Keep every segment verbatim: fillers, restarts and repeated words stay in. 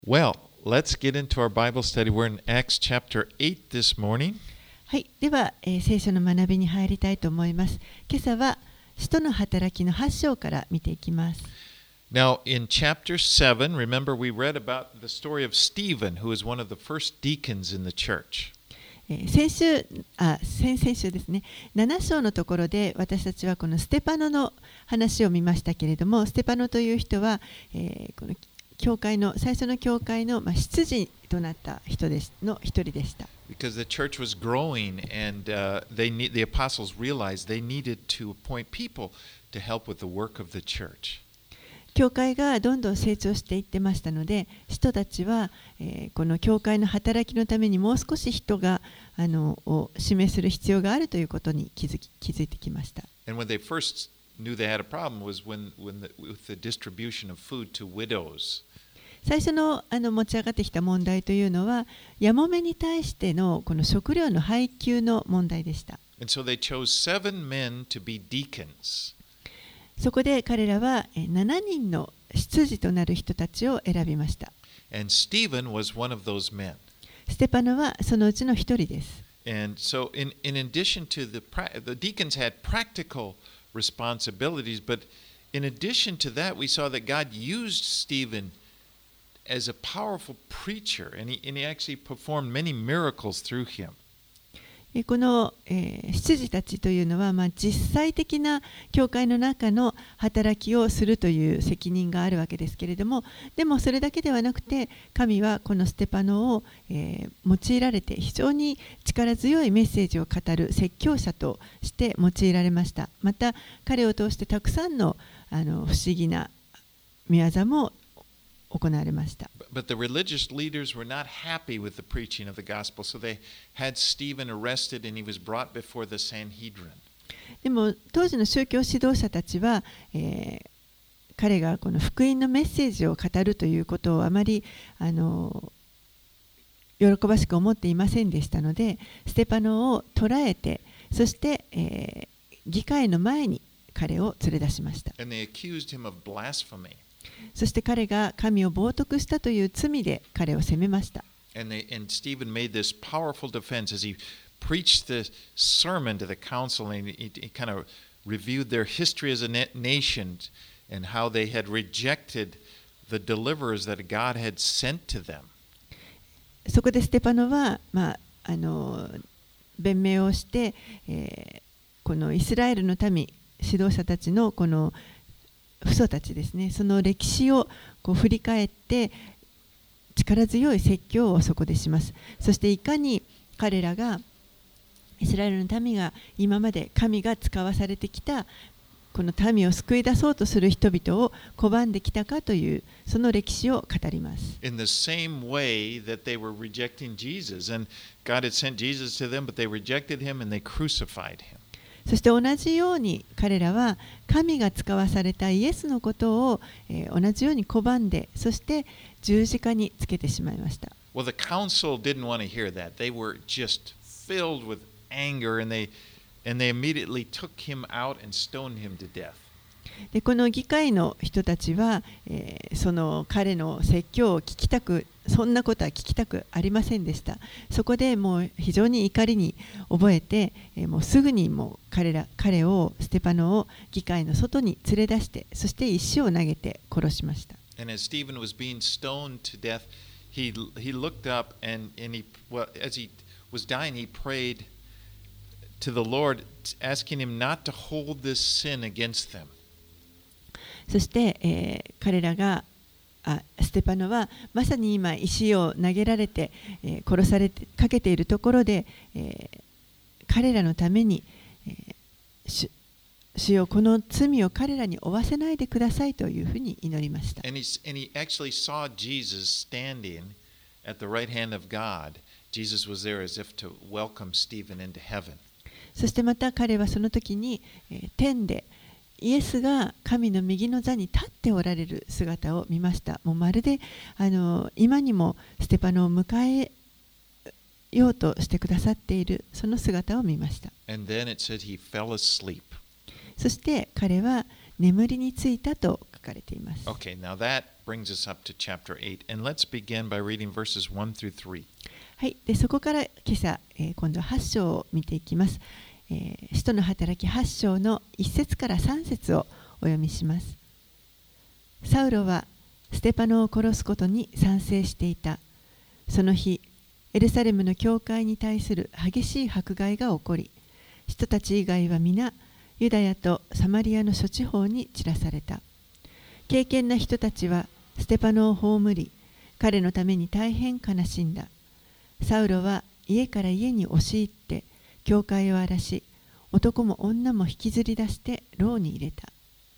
Well, let's get into our Bible study. We're in Acts chapter eight this morning. はい、では、えー聖書の学びに入りたいと思います。今朝は使徒の働きのはち章から見ていきます。 Now, in chapter seven, remember we read about the story of Stephen, who was one of the first deacons in the church. えー先週、あ、先々週ですね、なな章のところで私たちはこのステパノの話を見ましたけれども、ステパノという人は、えーこの教会の最初の教会の、まあ、執事となった人ですの一人でした。 Because the church was growing, and uh, they need, the apostles realized they needed to appoint people to help with the work of the church. 教会がどんどん成長していってましたので、使徒たちは、えーこの教会の働きのためにもう少し人があのを指名する必要があるということに気づき気づいてきました。 And when they first knew they had a problem was when, when the, with the distribution of food to widows. 最初の、あの持ち上がってきた問題というのは、やもめに対してのこの食料の配給の問題でした。 And so they chose seven men to be deacons. そこで彼らはえーななにんの執事となる人たちを選びました。 And Stephen was one of those men. ステパノはそのうちの一人です。 And so, in, in addition to the, pra- the deacons had practical responsibilities, but in addition to that, we saw that God used Stephen as a powerful preacher, and he, and he actually performed many miracles through him. えこの、えー、執事たちというのは、まあ、実際的な教会の中の働きをするという責任があるわけですけれども、でもそれだけではなくて、神はこのステパノを、えー、用いられて非常に力強いメッセージを語る説教者として用いられました。また彼を通してたくさんの、あの不思議な御業も行われました。 But the religious leaders were not happy with the preaching of the gospel, so they had Stephen arrested and he was brought before the Sanhedrin. でも当時の宗教指導者たちは、えー彼がこの福音のメッセージを語るということをあまりあの喜ばしく思っていませんでしたので、ステパノを捕らえて、そして、えー議会の前に彼を連れ出しました。 And they accused him of blasphemy. そして彼が神を冒涜したという罪で彼を責めました。 And, they, and Stephen made this powerful defense as he preached the sermon to the council, and he, he kind of reviewed their history as a na- nation and how they had rejected the deliverers that God had sent to them. そこでステパノは、まあ、あの弁明をして、えーこのイスラエルの民、指導者たちのこの父祖たちですね、その歴史をこう振り返って力強い説教をそこでします。そしていかに彼らがイスラエルの民が今まで神が使わされてきたこの民を救い出そうとする人々を拒んできたかというその歴史を語ります。 In the same way that they were rejecting Jesus, and God had sent Jesus to them, but they rejected him and they crucified him. そして同じように彼らは神が使わされたイエスのことを、えー同じように拒んで、そして十字架につけてしまいました。 Well, the council didn't want to hear that. They were just filled with anger, and they and they immediately took him out and stoned him to death. でこの議会の人たちは、えーその彼の説教を聞きたく、そんなことは聞きたくありませんでした。そこでもう非常に怒りに覚えて、えーもうすぐにもう彼ら彼をステパノを議会の外に連れ出して、そして石を投げて殺しました。 And as Stephen was being stoned to death, he he looked up and and he well as he was dying, he prayed to the Lord, asking him not to hold this sin against them. そして、えー彼らがあステパノはまさに今石を投げられて、えー殺されてかけているところで、えー彼らのために、えー主主よこの罪を彼らに負わせないでくださいというふうに祈りました。 And he and he actually saw Jesus standing at the right hand of God. Jesus was there as if to welcome Stephen into heaven. そしてまた彼はその時に、えー天でイエスが神の右の座に立っておられる姿を見ました。もうまるであの今にもステパノを迎えようとしてくださっているその姿を見ました。 And then it said he fell asleep. そして彼は眠りについたと書かれています。 Okay, now that brings us up to chapter eight. And let's begin by reading verses one through three. はい、でそこから今朝、えー、今度ははち章を見ていきます。えー、使徒の働きはち章のいち節からさん節をお読みします。サウロはステパノを殺すことに賛成していた。その日、エルサレムの教会に対する激しい迫害が起こり、人たち以外は皆、ユダヤとサマリアの諸地方に散らされた。敬虔な人たちはステパノを葬り、彼のために大変悲しんだ。サウロは家から家に押し入って、教会を荒らし、男も女も引きずり出して牢に入れた。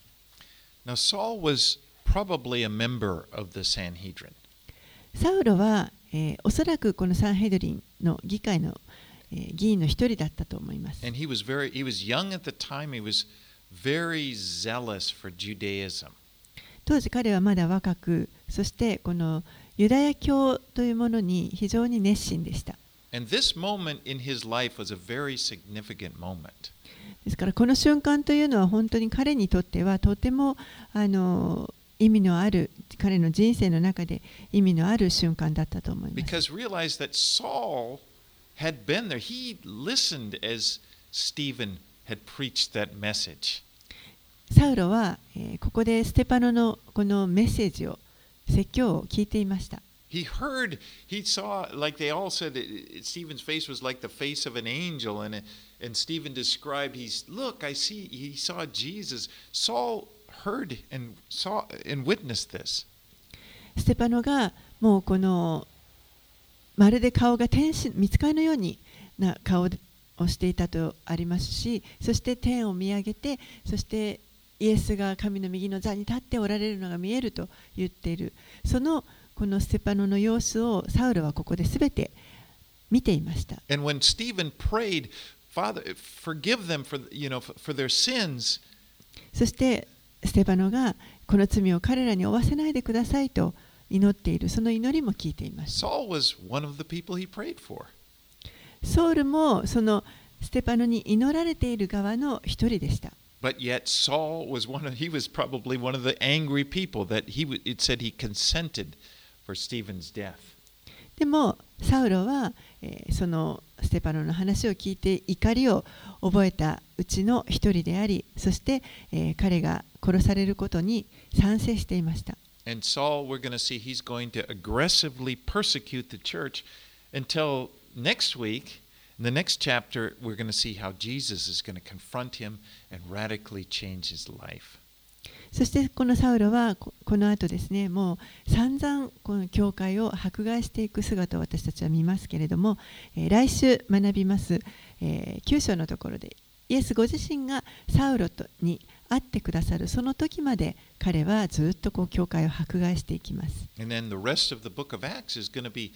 Now, Saul was probably a member of the Sanhedrin. サウロは、えー、おそらくこのサンヘドリンの議会の、えー、議員の一人だったと思います。 And he was very, he was young at the time. He was very zealous for Judaism. 当時彼はまだ若く、そしてこのユダヤ教というものに非常に熱心でした。 And this moment in his life was a very significant moment. ですからこの瞬間というのは本当に彼にとってはとてもあの意味のある、彼の人生の中で意味のある瞬間だったと思います。 Because realize that Saul had been there. He listened as Stephen had preached that message. サウロは、えー、ここでステパノのこのメッセージを、説教を聞いていました。 He heard, he saw, like they all said, Stephen's face was like the face of an angel, and and Stephen described, he's, look, I see, he saw Jesus. Saul heard and saw and witnessed this. ステパノがもうこのまるで顔が天使、御使いのようにな顔をしていたとありますし、そして天を見上げて、そしてイエスが神の右の座に立っておられるのが見えると言っている。そのこのステパノの様子をサウルはここで全て見ていました。 And when Stephen prayed, Father, forgive them for, you know, for their sins. そしてステパノがこの罪を彼らに負わせないでくださいと祈っている、その祈りも聞いています。 Saul was one of the people he prayed for. ソウルもそのステパノに祈られている側の一人でした。 But yet Saul was one of, he was probably one of the angry people that he, it said he consented for Stephen's death. でもサウロは、えー、そのステパノの話を聞いて怒りを覚えたうちの一人であり、そして、えー、彼が殺されることに賛成していました。 And Saul, we're going to see he's going to aggressively persecute the church until next week. In the next chapter, we're going to see how Jesus is going to confront him and radically change his life. そしてこのサウロはこの後ですね、もう散々この教会を迫害していく姿を私たちは見ますけれども、えー、来週学びます、えー、きゅう章のところでイエスご自身がサウロとに会ってくださるその時まで彼はずっとこう教会を迫害していきます。 And then the rest of the book of Acts is going to be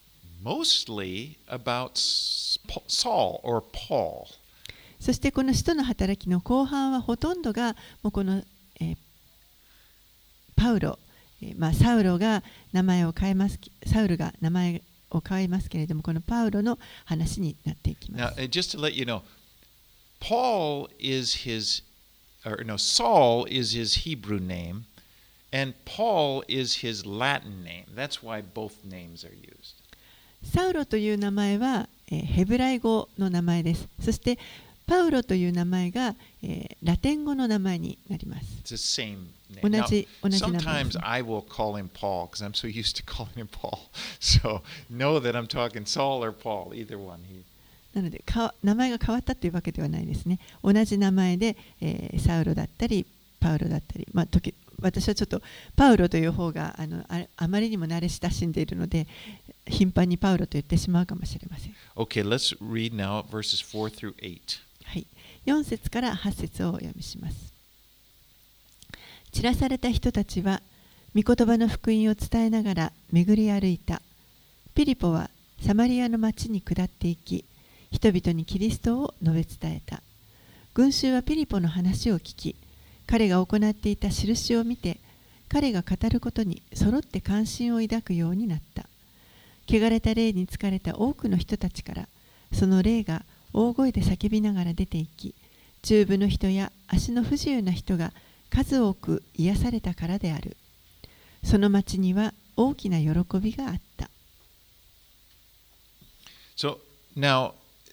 mostly about Saul or Paul. そしてこの使徒の働きの後半はほとんどがもうこの、えー、パウロ、えーまあ、サウロが名前を変えます、サウルが名前を変えますけれども、このパウロの話になっていきます。 Now, just to let you know, Paul is his, or no, Saul is his Hebrew name, and Paul is his Latin name. That's why both names are used. サウロという名前は、えー、ヘブライ語の名前です。そしてパウロという名前が、えー、ラテン語の名前になります。 It's the same name. 同 Now, じ、同じ名前です。 sometimes I will call him Paul because I'm so used to calling him Paul. So know that I'm talking Saul or Paul, either one. He... なのでか名前が変わったというわけではないですね。同じ名前で、えー、サウロだったりパウロだったり、まあ、時私はちょっとパウロという方があの あ, あまりにも慣れ親しんでいるので頻繁にパウロと言ってしまうかもしれません。 Okay, let's read now verses four through eight. はい、よん節からはち節をお読みします。散らされた人たちは御言葉の福音を伝えながら巡り歩いた。ピリポはサマリアの町に下っていき、人々にキリストを述べ伝えた。群衆はピリポの話を聞き、彼が行っていた印を見て、彼が語ることに揃って関心を抱くようになった。汚れた霊に疲れた多くの人たちから、その霊が大声で叫びながら出て行き、中部の人や足の不自由な人が数多く癒されたからである。 その町には大きな喜びがあった。 So now,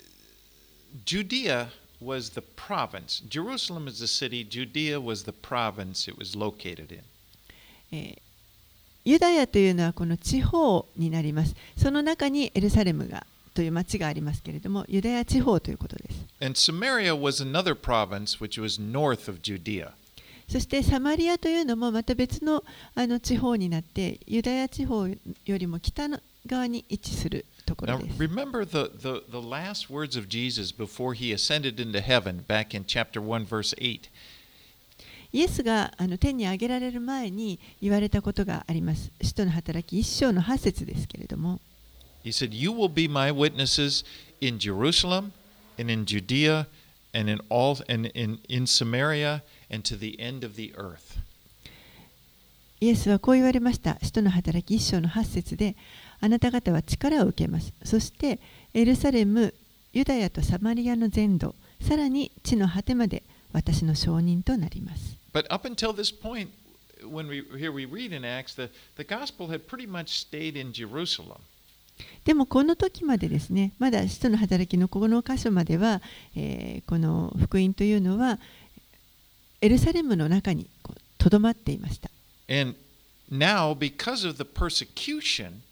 Judea was the province. Jerusalem is the city. Judea was the province it was located in. えーユダヤというのはこの地方になります。その中にエルサレムがという町がありますけれども、ユダヤ地方ということです。 And Samaria was another province which was north of Judea. そしてサマリアというのもまた別のあの地方になって、ユダヤ地方よりも北側に位置するところ Now です。 remember the, the, the last words of Jesus before he ascended into heaven back in chapter one verse eight. イエスがあの天に上げられる前に言われたことがあります。使徒の働き一章の八節ですけれども。 He said, "You will be my witnesses in Jerusalem and in Judea and in all and in, in Samaria and to the end of the earth." イエスはこう言われました。使徒の働き一章の八節で、あなた方は力を受けます。そしてエルサレム、ユダヤとサマリアの全土、さらに地の果てまで私の証人となります。 But up until this point, when we here we read in Acts, the, the gospel had pretty much stayed in Jerusalem. でもこの時までですね、まだ使徒の働きのこの箇所までは、えー、この福音というのはエルサレムの中にとどまっていました。 And now, because of the persecution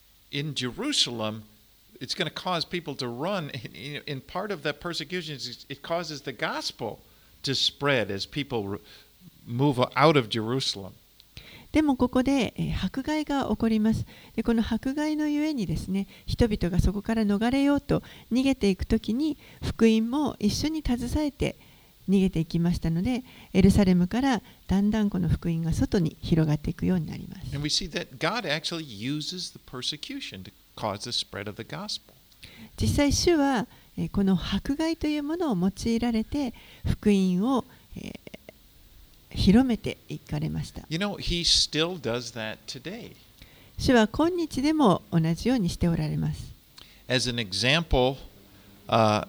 in Jerusalem, it's going to cause people to run. In part of that persecution, it causes the gospel to spread as people move out of Jerusalem. でもここで、えー、迫害が起こります。で、この迫害のゆえにですね、人々がそこから逃れようと逃げていくときに、福音も一緒に携えて逃げていきましたので、エルサレムからだんだんこの福音が外に広がっていくようになります。 And we see that God actually uses the persecution to cause the spread of the gospel. 実際、主は、えー、この迫害というものを用いられて、福音を、えー広めていかれました。 You know, he still does that today. 主は今日でも同じようにしておられます。 As an example, uh,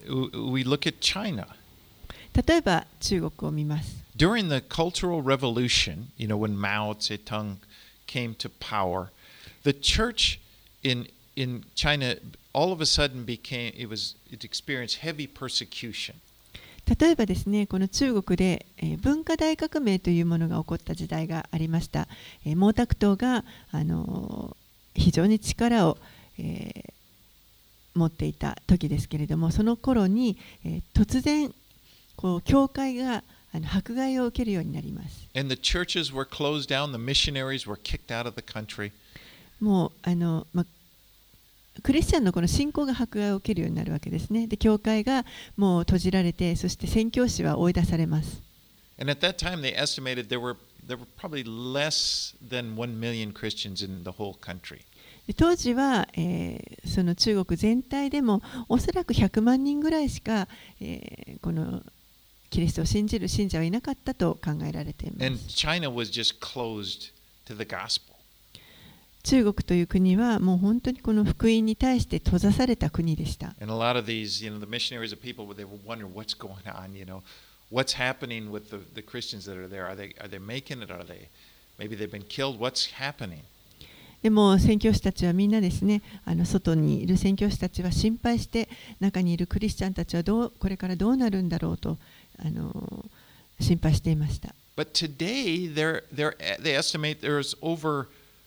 we look at China. 例えば中国を見ます。 During the Cultural Revolution, you know, when Mao Zedong came to power, the church in in China all of a sudden became it was it experienced heavy persecution. 例えばですね、この中国で、えー、文化大革命というものが起こった時代がありました。えー、毛沢東が、あのー、非常に力を、えー、持っていた時ですけれども、その頃に、えー、突然こう教会があの迫害を受けるようになります。 And the churches were closed down, the missionaries were kicked out of the country. もうあの、まクリスチャンのこの信仰が迫害を受けるようになるわけですね。で、教会がもう閉じられて、そして宣教師は追い出されます。 And at that time they estimated there were there were probably less than one million Christians in the whole country. 当時は、えー、その中国全体でもおそらくひゃくまんにんぐらいしか、えー、このキリストを信じる信者はいなかったと考えられています。 And China was just closed to the gospel. 中国という国はもう本当にこの福音に対して閉ざされた国でした。 And a lot of these, you know, the missionaries of people, they were wondering what's going on, you know, what's happening with the, the Christians that are there. Are they, are they making it? Are they, maybe they've been killed? What's happening? でも宣教師たちはみんなですね、あの外にいる宣教師たちは心配して、中にいるクリスチャンたちはどうこれからどうなるんだろうとあの心配していました。 But today, they're, they're, they estimate there's over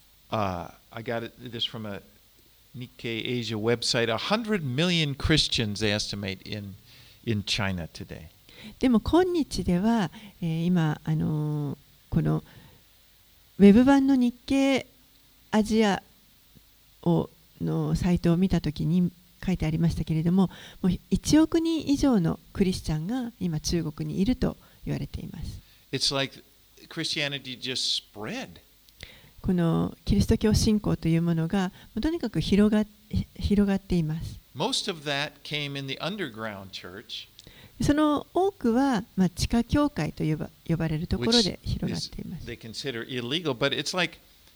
Uh, I got it, this from a Nikkei Asia website. A hundred million Christians they estimate in in China today. でも今日では、えー、今あのー、このウェブ版の日経アジアをのサイトを見たときに書いてありましたけれども、もういちおくにん以上のクリスチャンが今中国にいると言われています。 It's like Christianity just spread. このキリスト教信仰というものがとにかく広が、広がっています。 Most of that came in the underground church, その多くは、まあ、地下教会と呼ば、呼ばれるところで広がっています。 they consider illegal, but it's like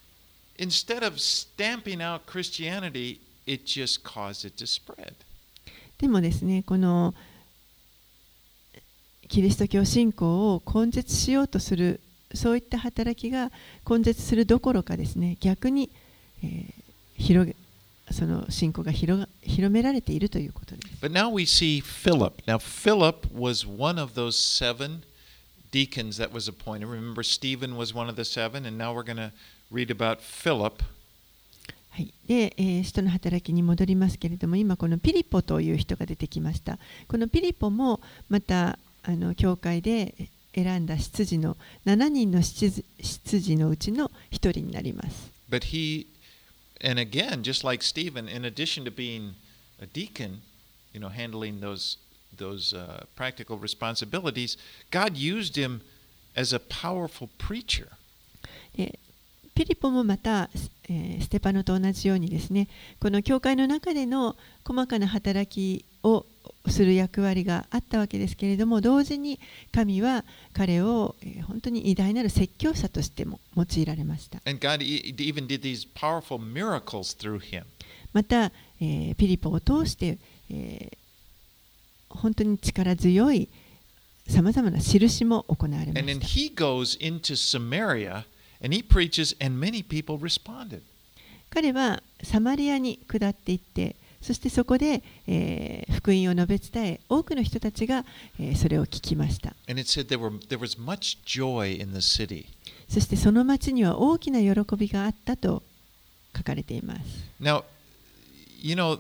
instead of stamping out Christianity, it just caused it to spread. でもですね、このキリスト教信仰を根絶しようとするそういった働きが根絶するどころかですね、逆に、えー、広げその信仰が 広, 広められているということです。 But now we see Philip. Now Philip was one of those seven deacons that was appointed. Remember, Stephen was one of the seven, and now we're going to read about Philip. はい、で、えー、使徒の働きに戻りますけれども、今このピリポという人が出てきました。このピリポもまたあの教会で選んだ執事のななにんの執事のうちのひとりになります。 But he, and again, just like Stephen, in addition to being a deacon, you know, handling those those uh, practical responsibilities, God used him as a powerful preacher. でピリポもまた、えー、ステパノと同じようにですね、この教会の中での細かな働きをする役割があったわけですけれども、同時に神は彼を、えー、本当に偉大なる説教者としても用いられました。 And God even did these powerful miracles through him. また、えー、ピリポを通して、えー、本当に力強いさまざまな印も行われました。 And then he goes into Samaria and he preaches, and many people responded. 彼はサマリアに下っていって、そしてそこで、えー、福音を述べ伝え、多くの人たちが、えー、それを聞きました。 And it said there were there was much joy in the city. そしてその町には大きな喜びがあったと書かれています。 Now, you know,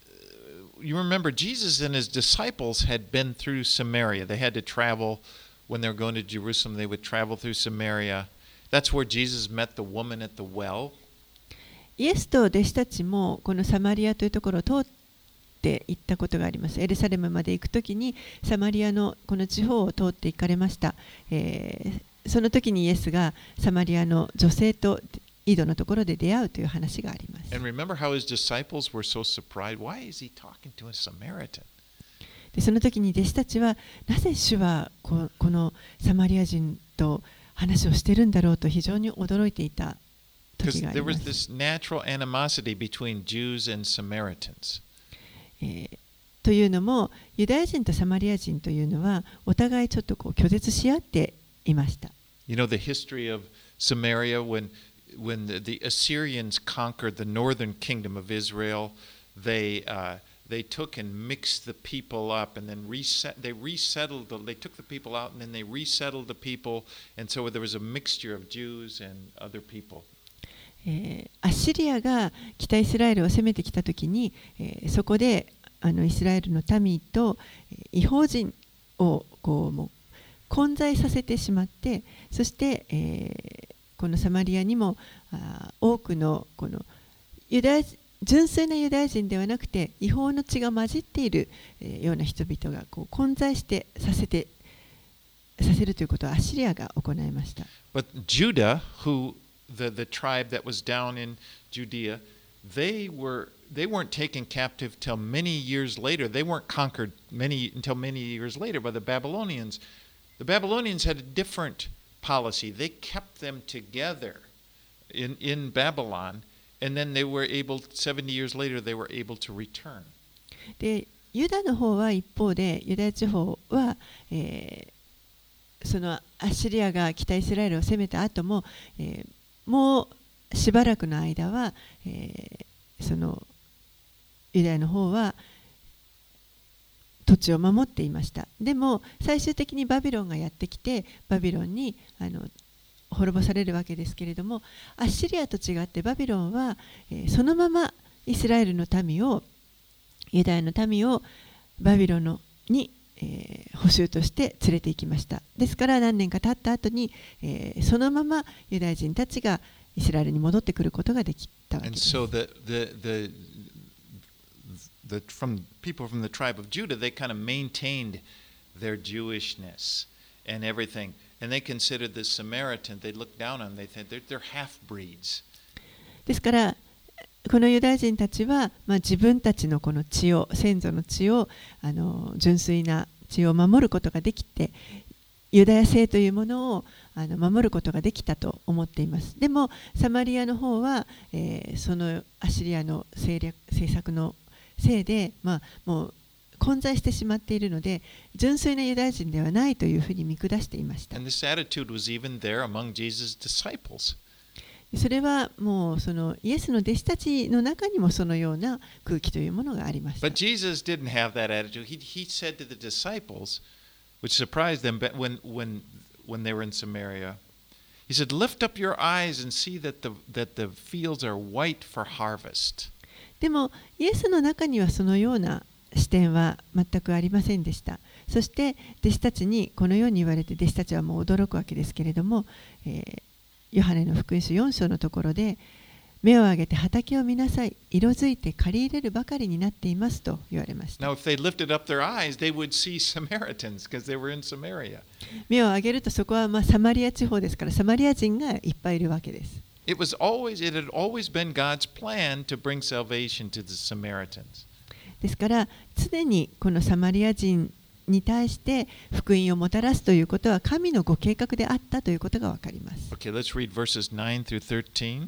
you remember Jesus and his disciples had been through Samaria. They had to travel when they were going to Jerusalem. They would travel through Samaria. That's where Jesus met the woman at the well. イエスと弟子たちもこのサマリアというところを通って行ったことがあります。エルサレムまで行くときにサマリアのこの地方を通って行かれました。えー、その時にイエスがサマリアの女性と井戸のところで出会うという話があります。 And remember how his disciples were so surprised. Why is he talking to a Samaritan? でその時に弟子たちはなぜ主はここのサマリア人と話をしているんだろうと非常に驚いていた時があります。 Because there was this natural animosity between Jews and Samaritans. えー、というのもユダヤ人とサマリア人というのはお互いちょっとこう拒絶し合っていました。 You know the history of Samaria when when the, the Assyrians conquered the northern kingdom of Israel, they uh, they took and mixed the people up and then reset they resettled the, they took the people out and then they resettled the people, and so there was a mixture of Jews and other people. えー、アッシリアが北イスラエルを攻めてきたときに、えー、そこであのイスラエルの民と異邦人をこうもう混在させてしまって、そして、えー、このサマリアにもあ多くのこのユダヤ純粋なユダヤ人ではなくて異邦の血が混じっている、えー、ような人々がこう混在してさせてさせるということをアッシリアが行いました。 But Judah, who The, the tribe that was down in Judea, they were they weren't taken captive till many years later. They weren't conquered many until many years later by the Babylonians. The Babylonians had a different policy. They kept them together in, in Babylon, and then they were able, seventy years later, they were able to return. で、ユダの方は一方で、ユダヤ地方は、えー、そのアッシリアが北イスラエルを攻めた後も、えーもうしばらくの間は、えー、そのユダヤの方は土地を守っていました。でも最終的にバビロンがやってきてバビロンにあの滅ぼされるわけですけれども、アッシリアと違ってバビロンは、えー、そのままイスラエルの民をユダヤの民をバビロンのにえー、捕囚として連れて行きました。ですから何年か経った後に、えー、そのままユダヤ人たちがイスラエルに戻ってくることができたわけです。 And so the, the, the, the, from people from the tribe of Judah, they kind of maintained their Jewishness and everything. And they considered the Samaritan, they looked down on them, they said they're, they're half-breeds. ですからこのユダヤ人たちは、まあ、自分たちのこの血を先祖の血をあの純粋な血を守ることができてユダヤ性というものをあの守ることができたと思っています。でもサマリアの方は、えー、そのアッシリアの政略政策のせいで、まあ、もう混在してしまっているので、純粋なユダヤ人ではないというふうに見下していました。 And this attitude was even there among Jesus' disciples. それはもうそのイエスの弟子たちの中にもそのような空気というものがありました。 But Jesus didn't have that attitude. He, he said to the disciples, which surprised them when, when, when they were in Samaria, He said, Lift up your eyes and see that the, that the fields are white for harvest. でもイエスの中にはそのような視点は全くありませんでした。そして弟子たちにこのように言われて、弟子たちはもう驚くわけですけれども、えーヨハネの福音書よん章のところで、目を上げて畑を見なさい、色づいて刈り入れるばかりになっていますと言われました。 Now, if they lifted up their eyes, they would see Samaritans because they were in Samaria. 目を上げるとそこはまあサマリア地方ですから、サマリア人がいっぱいいるわけです。 It was always, it had always been God's plan to bring salvation to the Samaritans. ですから常にこのサマリア人に対して福音をもたらすということは神のご計画であったということがわかります。 Okay, let's read verses nine through thirteen.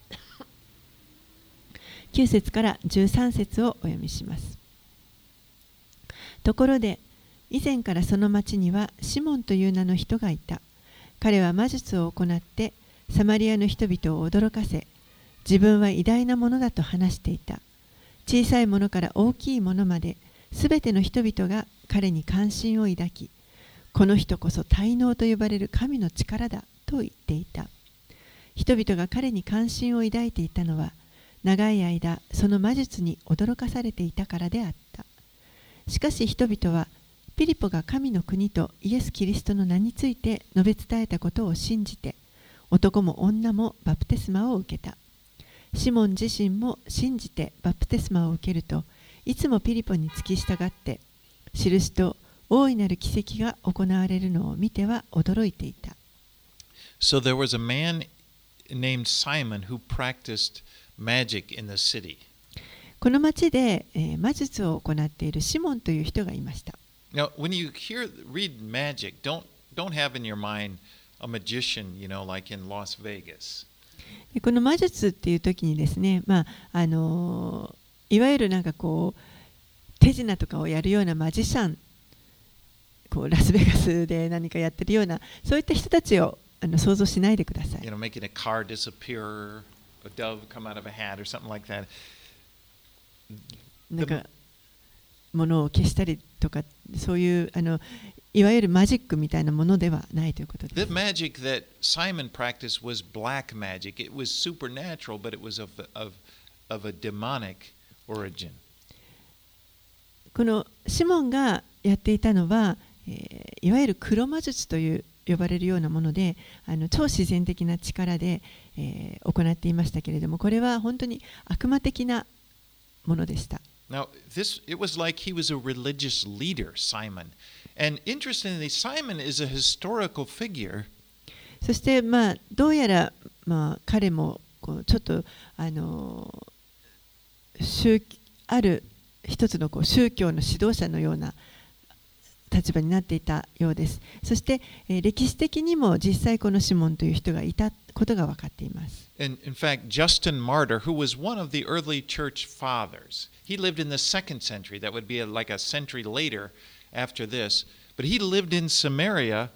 きゅう節からじゅうさん節をお読みします。ところで以前からその町にはシモンという名の人がいた。彼は魔術を行ってサマリアの人々を驚かせ、自分は偉大なものだと話していた。小さいものから大きいものまで、すべての人々が彼に関心を抱き、この人こそ大能と呼ばれる神の力だと言っていた。人々が彼に関心を抱いていたのは、長い間その魔術に驚かされていたからであった。しかし人々は、ピリポが神の国とイエス・キリストの名について述べ伝えたことを信じて、男も女もバプテスマを受けた。シモン自身も信じてバプテスマを受けると、いつもピリポに付き従って、印と大いなる奇跡が行われるのを見ては驚いていた。 So there was a man named Simon who practiced magic in the city. この町で、えー魔術を行っているシモンという人がいました。 Now, when you hear read magic, don't don't have in your mind a magician, you know, like in Las Vegas. でこの魔術っていう時にですね、まああのーいわゆるなんかこう手品とかをやるようなマジシャン、こうラスベガスで何かやってるようなそういった人たちをあの想像しないでください。 You know, making a car disappear, a dove come out of a hat, or something like that. なんか物を消したりとか、そういうあのいわゆるマジックみたいなものではないということで The す。 magic that Simon practiced was black magic. It was supernatural, but it was of of of a demonic origin. このシモンがやっていたのは、えーいわゆる黒魔術という呼ばれるようなもので、あの超自然的な力で、えー行っていましたけれども、これは本当に悪魔的なものでした。 Now, this it was like he was a religious leader, Simon. And interestingly, Simon is a historical figure. そしてまあどうやらまあ彼もこうちょっとあの宗ある一つのこう宗教の指導者のような立場になっていたようです。そして、えー歴史的にも実際このシモンという人がいたことが分かっています。 And in fact, Justin Martyr, who was one of the early church fathers, he lived in the second century. That would be a, like a century later after this. But he lived in Samaria,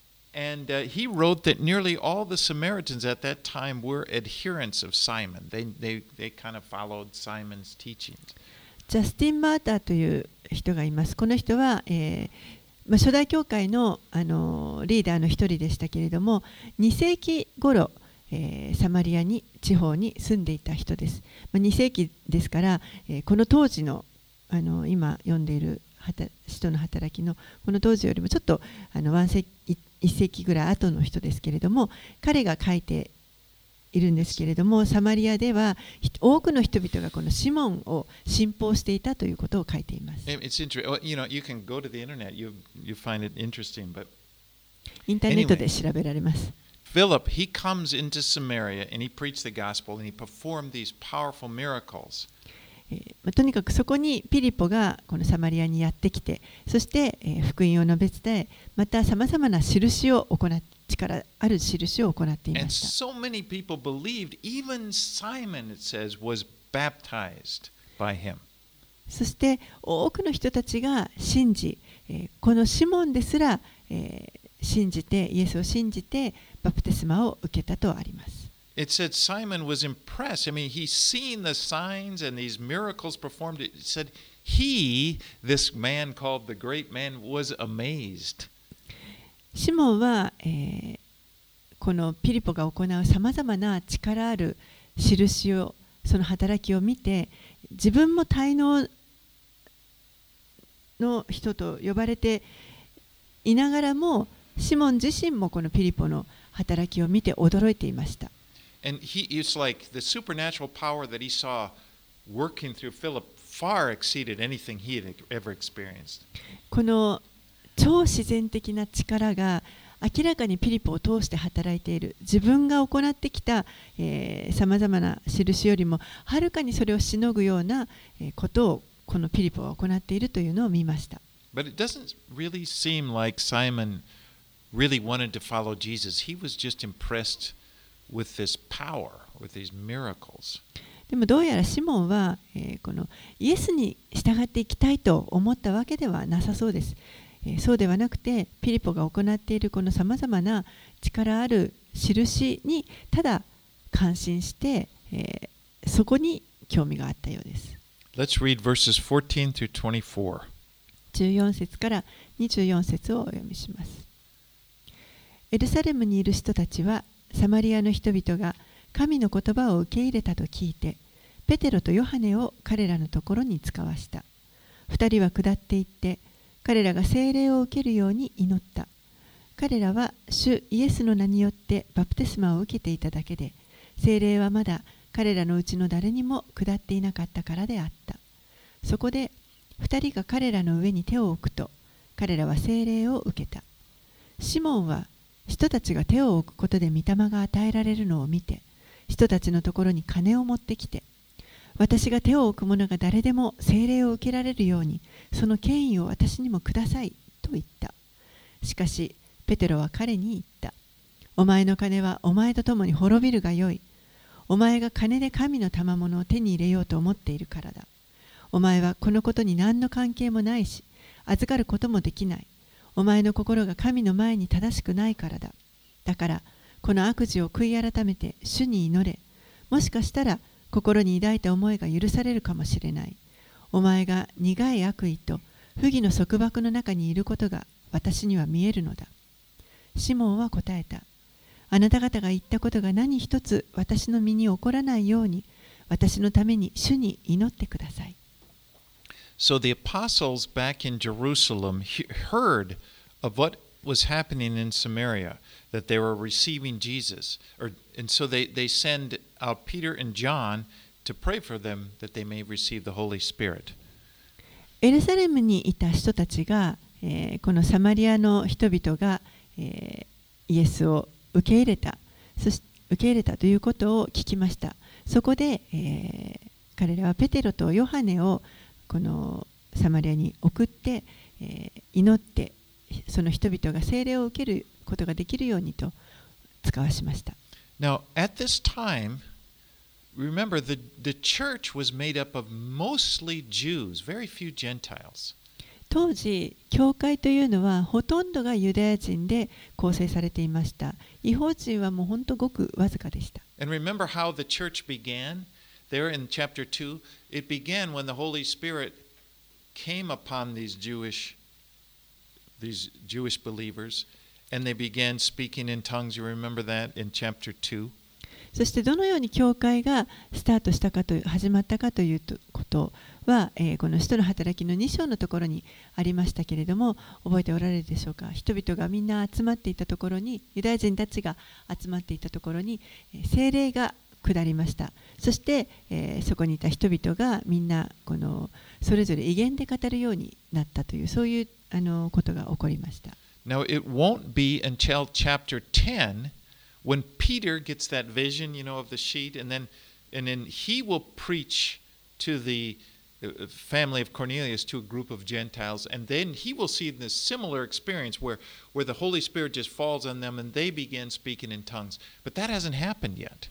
and uh, he wrote that nearly all the Samaritans at that time were adherents of Simon. They, they, they kind of followed Simon's teachings. ジャスティン・マーターという人がいます。この人は、えーまあ、初代教会の、あのーリーダーの一人でしたけれども、に世紀頃、えーサマリアに地方に住んでいた人です。まあ、に世紀ですから、えーこの当時の、あのー今読んでいる使徒の働きのこの当時よりもちょっとあのいっ世紀ぐらい後の人ですけれども、彼が書いているんですけれども、サマリアでは多くの人々がこのシモンを信奉していたということを書いています。 It's interesting. You know, you can go to the internet. You you find it interesting, but インターネットで調べられます。 Philip, he comes into Samaria and he preached the gospel and he performed these powerful miracles. えーまあとにかくそこにピリポがこのサマリアにやってきて、そして、えー福音を述べ伝え、またさまざまな印を行っ力ある印を行っていま And した。 so many people believed, even Simon, it says, was baptized by him. そして多くの人たちが信じ、このシモンですら信じて、イエスを信じてバプテスマを受けたとあります。 It said Simon was impressed. I mean, he's seen the signs and these miracles performed. It said he, this man called the great man, was amazed. シモンは、えー、このピリポが行うさまざまな力ある印を、その働きを見て、自分も滞納の人と呼ばれていながらも、シモン自身もこのピリポの働きを見て驚いていました。 And he, it's like the supernatural power that he saw working through Philip far exceeded anything he had ever experienced. この超自然的な力が明らかにピリポを通して働いている。自分が行ってきたさまざまな印よりもはるかにそれをしのぐようなことをこのピリポが行っているというのを見ました。 But it doesn't really seem like Simon really wanted to follow Jesus. He was just impressed with this power, with these miracles. でもどうやらシモンは、えー、このイエスに従っていきたいと思ったわけではなさそうです。えー、そうではなくて、ピリポが行っているこのさまざまな力ある印にただ感心して、えー、そこに興味があったようです。 Let's read verses fourteen through twenty-four. じゅうよん節からにじゅうよん節をお読みします。エルサレムにいる人たちはサマリアの人々が神の言葉を受け入れたと聞いて、ペテロとヨハネを彼らのところに使わした。二人は下っていって、彼らが聖霊を受けるように祈った。彼らは主イエスの名によってバプテスマを受けていただけで、聖霊はまだ彼らのうちの誰にも下っていなかったからであった。そこで二人が彼らの上に手を置くと、彼らは聖霊を受けた。シモンは人たちが手を置くことで御霊が与えられるのを見て、人たちのところに金を持ってきて、私が手を置く者が誰でも聖霊を受けられるように、その権威を私にもくださいと言った。しかし、ペテロは彼に言った。お前の金はお前と共に滅びるがよい。お前が金で神の賜物を手に入れようと思っているからだ。お前はこのことに何の関係もないし、預かることもできない。お前の心が神の前に正しくないからだ。だから、この悪事を悔い改めて主に祈れ。もしかしたら、心に抱いた思いが許されるかもしれない。お前が苦い悪意と不義の束縛の中にいることが私には見えるのだ。シモンは答えた。あなた方が言ったことが何一つ私の身に起こらないように、私のために主に祈ってください。 So the apostles back in Jerusalem heard of what was happening in Samaria, that they were receiving Jesus. Or, and so they, they send out Peter and John to pray for them that they may receive the Holy Spirit. エルサレムにいた人たちが、えー、このサマリアの人々が、えー、イエスを受け入れた、そして受け入れたということを聞きました。そこで、えー、彼らはペテロとヨハネをこのサマリアに送って、えー、祈ってその人々が聖霊を受けることができるようにと使わしました。 Now, at this time, remember the, the church was made up of mostly Jews, very few Gentiles. 当時、教会というのはほとんどがユダヤ人で構成されていました。異邦人はもう本当ごくわずかでした。 And remember how the church began? There in chapter two, it began when the Holy Spirit came upon these Jewish, these Jewish believers, and they began speaking in tongues. You remember that in chapter two? そしてどのように教会がスタートしたかと始まったかということは、えー、この使徒の働きのに章のところにありましたけれども、覚えておられるでしょうか。人々がみんな集まっていたところに、ユダヤ人たちが集まっていたところに、えー、聖霊が下りました。そして、えー、そこにいた人々がみんなこのそれぞれ威厳で語るようになったという、そういうあのことが起こりました。 Now it won't be until chapter ten when Peter gets that vision, you know, of the sheet, and then and then he will preach to the family of Cornelius, to a group of Gentiles, and then he will see this similar experience where where the Holy Spirit just falls on them and they begin speaking in tongues. But that hasn't happened yet.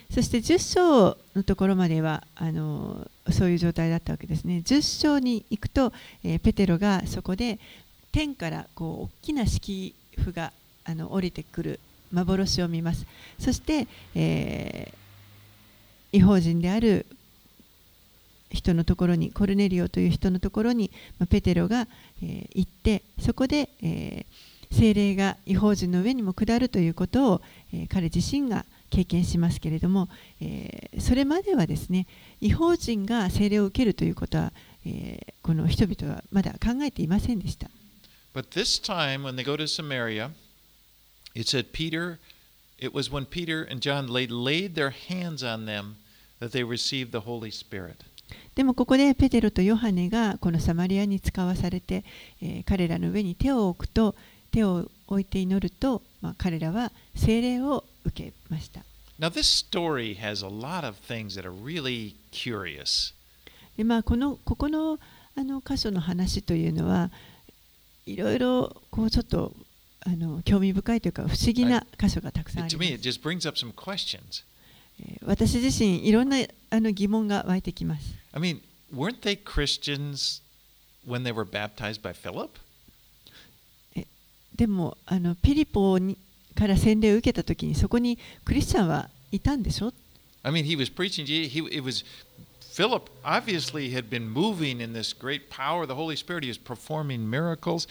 そしてじゅっ章のところまではあのそういう状態だったわけですね。じゅっ章に行くと、えー、ペテロがそこで天からこう大きな敷布があの降りてくる幻を見ます。そして、えー、異邦人である人のところに、コルネリオという人のところに、まあ、ペテロが、えー、行って、そこで、えー、聖霊が異邦人の上にも下るということを、えー、彼自身が経験しますけれども、えー、それまではですね、異邦人が聖霊を受けるということは、えー、この人々はまだ考えていませんでした。 But this time, when they go to Samaria, it said Peter, it was when Peter and John laid, laid their hands on them that they received the Holy Spirit. でもここでペテロとヨハネがこのサマリアに使わされて、えー、彼らの上に手を置くと、手を置いて祈ると、まあ、彼らは聖霊を受けました。 Now this story has a lot of things that are really curious. で、まあ、このここのあの箇所の話というのはいろいろこうちょっとあの興味深いというか不思議な箇所がたくさんあります。 To me, it just brings up some questions. 私自身いろんなあの疑問が湧いてきます。 I mean, weren't they Christians when they were baptized by Philip? でもあのピリポにから洗礼を受けたときにそこにクリスチャンはいたんでしょ？ I mean, he was preaching. He, it was Philip obviously had been moving in this great power of the Holy Spirit. He was performing miracles.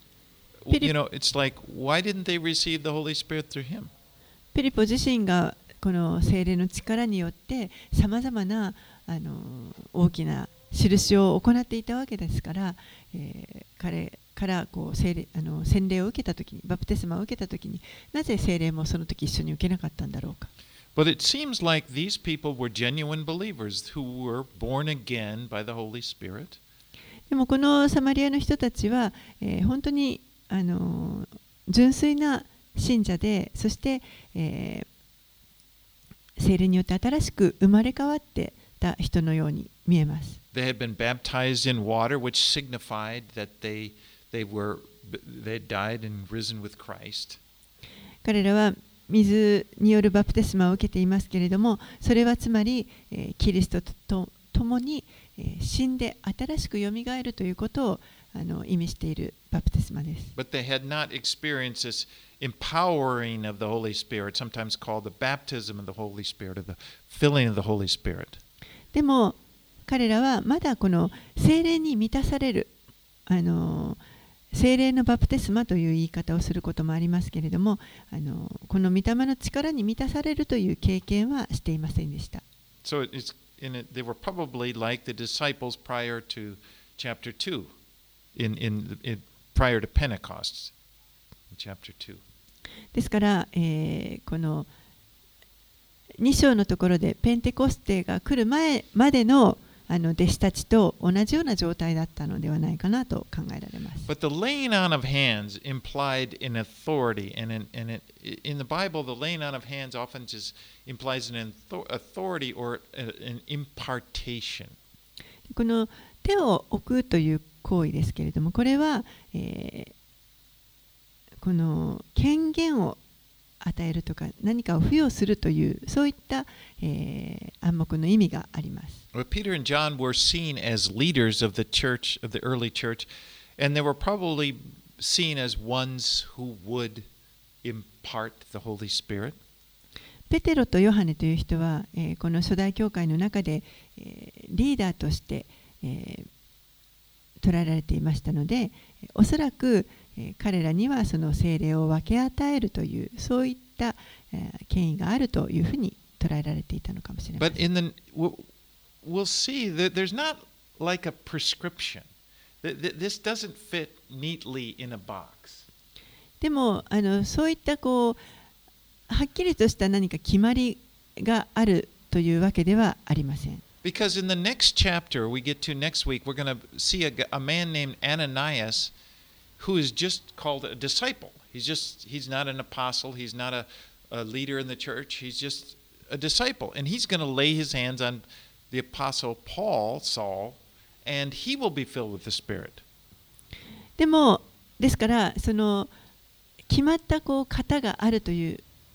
You know, it's like, why didn't they receive the Holy Spirit through him? ピリポ自身がこの聖霊の力によってさまざまなあの大きな印を行っていたわけですから、えー、彼からこう聖霊あの洗礼を受けたときに、バプテスマを受けたときに、なぜ聖霊もその時一緒に受けなかったんだろうか。 But it seems like these people were genuine believers who were born again by the Holy Spirit. でもこのサマリアの人たちは、えー、本当にあの純粋な信者で、そして、えー、聖霊によって新しく生まれ変わってた人のように見えます。 They had been baptized in water, which signified that they they were they had died and risen with Christ. 彼らは水によるバプテスマを受けていますけれども、それはつまり、えー、キリストと共に、えー、死んで新しくよみがえるということをあの意味しているバプテスマです。 But they had not experienced this empowering of the Holy Spirit, sometimes called the baptism of the Holy Spirit, or the filling of the Holy Spirit. でも彼らはまだこの聖霊に満たされる、あの聖霊のバプテスマという言い方をすることもありますけれども、あのこの御霊の力に満たされるという経験はしていませんでした。 So it's in it, they were probably like the disciples prior to chapter two, in in, in prior to Pentecost, in chapter two. ですから、えー、このに章のところでペンテコステが来る前までのあの弟子たちと同じような状態だったのではないかなと考えられます。 But the laying on of hands implied an authority, and in, and it, in the Bible, the laying on of hands often just implies an authority or an impartation. この手を置くという行為ですけれども、これは、えー、この権限を与えるとか何かを付与するというそういった、えー、暗黙の意味があります。 Well, Peter and John were seen as leaders of the church, of the early church, and they were probably seen as ones who would impart the Holy Spirit. ペテロとヨハネという人は、えー、この初代教会の中で、えー、リーダーとして、えー、捉えられていましたので、おそらく彼らにはその聖霊を分け与えるというそういった権威があるというふうに捉えられていたのかもしれません。 But in the we'll see that there's not like a prescription. This doesn't fit neatly in a box. でもあのそういったこうはっきりとした何か決まりがあるというわけではありません。 Because in the next chapter we get to next week, we're going to see a, a man named Ananias who is just called a disciple. He's just he's not an apostle, he's not a, a leader in the church, he's just a disciple. And he's going to lay his hands on the apostle Paul, Saul, and he will be filled with the Spirit. でもですからその決まったこう型があるという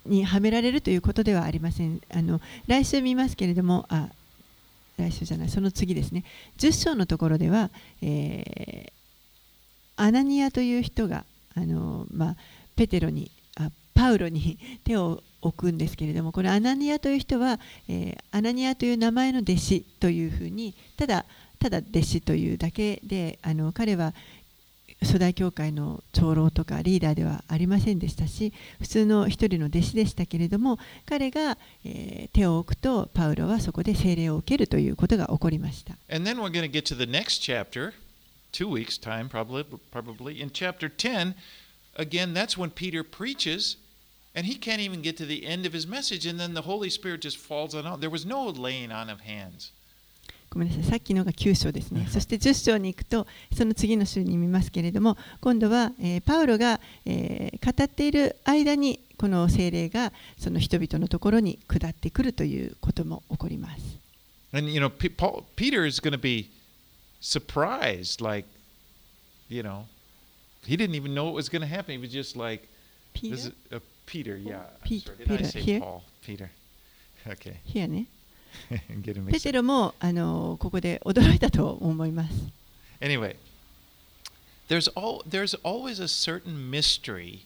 にはめられるということではありません。あの来週見ますけれども、あ、来週じゃない、その次ですね。じゅっ章のところでは、えー、アナニアという人があの、まあ、ペテロにあパウロに手を置くんですけれども、このアナニアという人は、えー、アナニアという名前の弟子というふうに、ただただ弟子というだけで、あの彼は初代教会の長老とかリーダーではありませんでしたし、普通の一人の弟子でしたけれども、彼が、えー、手を置くとパウロはそこで聖霊を受けるということが起こりました。 And then we're going to get to the next chapter, two weeks time probably, probably. In chapter ten, again, that's when Peter preaches, and he can't even get to the end of his message, and then the Holy Spirit just falls on all. There was no laying on of hands. ごめんなさい、さっきのがきゅう章ですね。そしてじゅっ章に行くと、その次の週に見ますけれども、今度は、えー、パウロが、えー、語っている間に、この聖霊がその人々のところに下ってくるということも起こります。 And you know, P- Paul, Peter is going to be surprised, like, you know, he didn't even know what was going to happen. He was just like, Peter? This is, uh, Peter, yeah. Pe- Sorry, did I Peter, say here? Paul? Peter. Okay. Here ね。 Get him ペ mixed テ up. ロもあのここで驚いたと思います。 Anyway, there's all there's always a certain mystery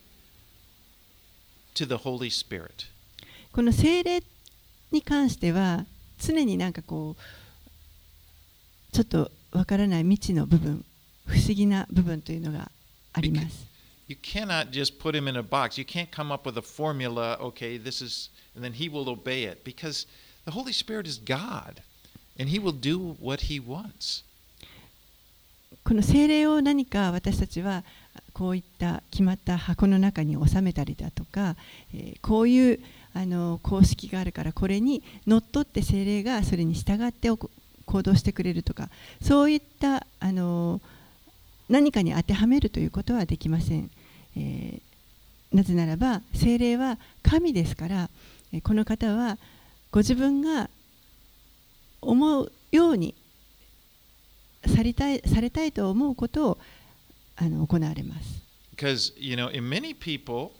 to the Holy Spirit. この聖霊に関しては常になんかこうちょっとわからない未知の部分、不思議な部分というのがあります。 You cannot just put him in a box. You can't come up with a formula. Okay, this is, and then he will obey it because the Holy Spirit is God, and He will do what He wants. この聖霊を何か私たちはこういった決まった箱の中に収めたりだとか、えー、こういうあの公式があるからこれにのっとって聖霊がそれに従って行動してくれるとか、そういったあの何かに当てはめるということはできません。えー、なぜならば聖霊は神ですから、この方はご自分が思うようにされたい、されたいと思うことをあの行われます。 Because, you know, in many people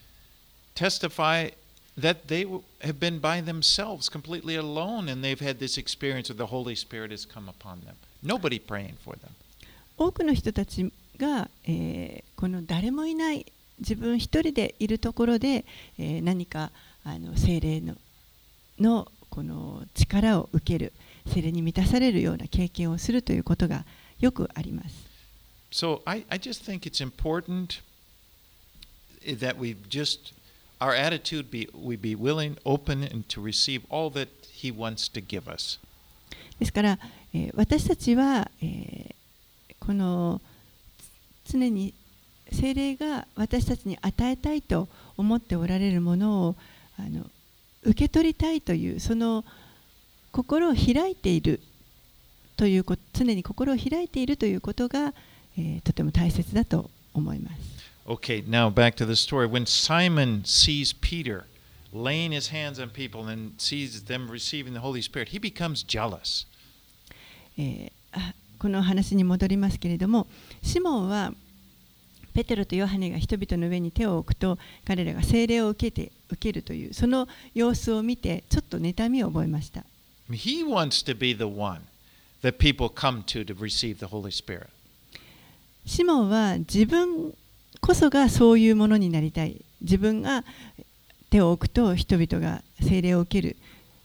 testify that they have been by themselves completely alone and they've had this experience of the Holy Spirit has come upon them. Nobody praying for them. 多くの人たちが、えー、この誰もいない自分一人でいるところで、えー、何かあの聖霊ののこの力を受ける、聖霊に満たされるような経験をするということがよくあります。 So I, I just think it's important that we just, our attitude be, we be willing, open, and to receive all that He wants to give us. ですから、えー、私たちは、えー、この常に聖霊が私たちに与えたいと思っておられるものをあの受け取りたいというその心を開いているということ、常に心を開いているということが、えー、とても大切だと思います。 Okay, now back to the story. When Simon sees Peter laying his hands on people and sees them receiving the Holy Spirit, he becomes jealous. えー、この話に戻りますけれども、シモンはペテロとヨハネが人々の上に手を置くと彼らが聖霊を受けて受けるというその様子を見てちょっと妬みを覚えました。 He wants to be the one that people come to to receive the Holy Spirit. シモンは自分こそがそういうものになりたい。自分が手を置くと人々が聖霊を受ける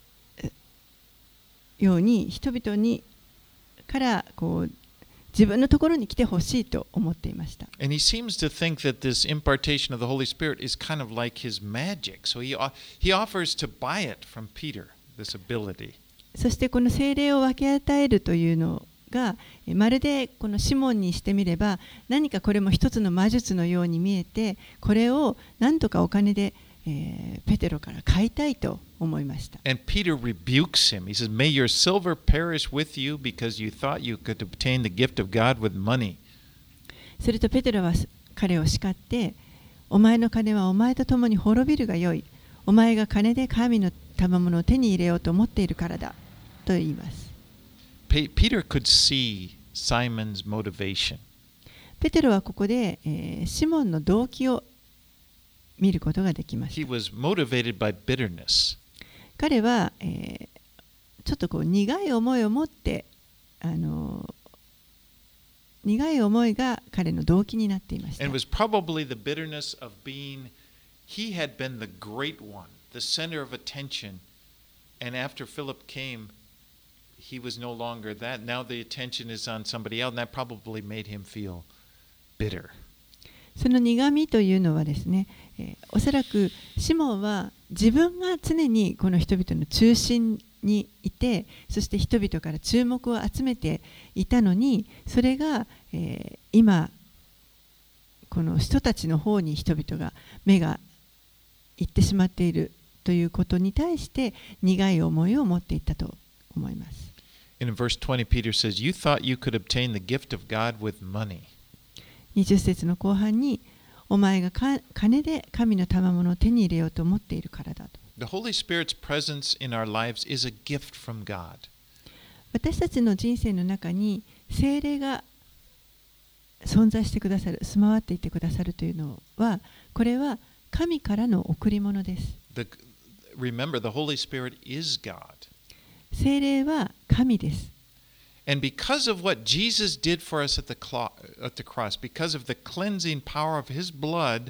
ように人々にからこう自分のところに来てほしいと思っていました。 And he seems to think that this impartation of the Holy Spirit is kind of like his magic. So he, he offers to buy it from Peter, this ability. そしてこの聖霊を分け与えるというのがまるでこのシモンにしてみれば何かこれも一つの魔術のように見えて、これを何とかお金で、えー、ペテロから買いたいと思いました。 And Peter rebukes him. He says, "May your silver perish with you because you thought you could obtain the gift of God with money." するとペテロは彼を叱って、お前の金はお前と共に滅びるがよい。お前が金で神の賜物を手に入れようと思っているからだと言います。 Peter could see Simon's motivation. ペテロはここで、えー、シモンの動機を見ることができまし He た。 was motivated by bitterness. 彼は、えーちょっとこう苦い思いを持ってあの苦い思いが彼の動機になっていました。 And it was probably the bitterness of being, he had been the great one, the center of attention. And after Philip came, he was no longer that. Now the attention is on somebody else, and that probably made him feel bitter. その苦みというのはですね、えーおそらくシモンは自分が常にこの人々の中心にいて、そして人々から注目を集めていたのに、それが、えー今この人たちの方に人々が目が行ってしまっているということに対して苦い思いを持っていったと思います。 And in verse twenty, Peter says, You thought you could obtain the gift of God with money. にじゅっ節の後半に、お前がか金で神の賜物を手に入れようと思っているからだと。 The Holy Spirit's presence in our lives is a gift from God. 私たちの人生の中に聖霊が存在してくださる、住まわっていてくださるというのは、これは神からの贈り物です。 The, remember, the Holy Spirit is God. 聖霊は神です。 And because of what Jesus did for us at the, clo- at the cross, because of the cleansing power of His blood,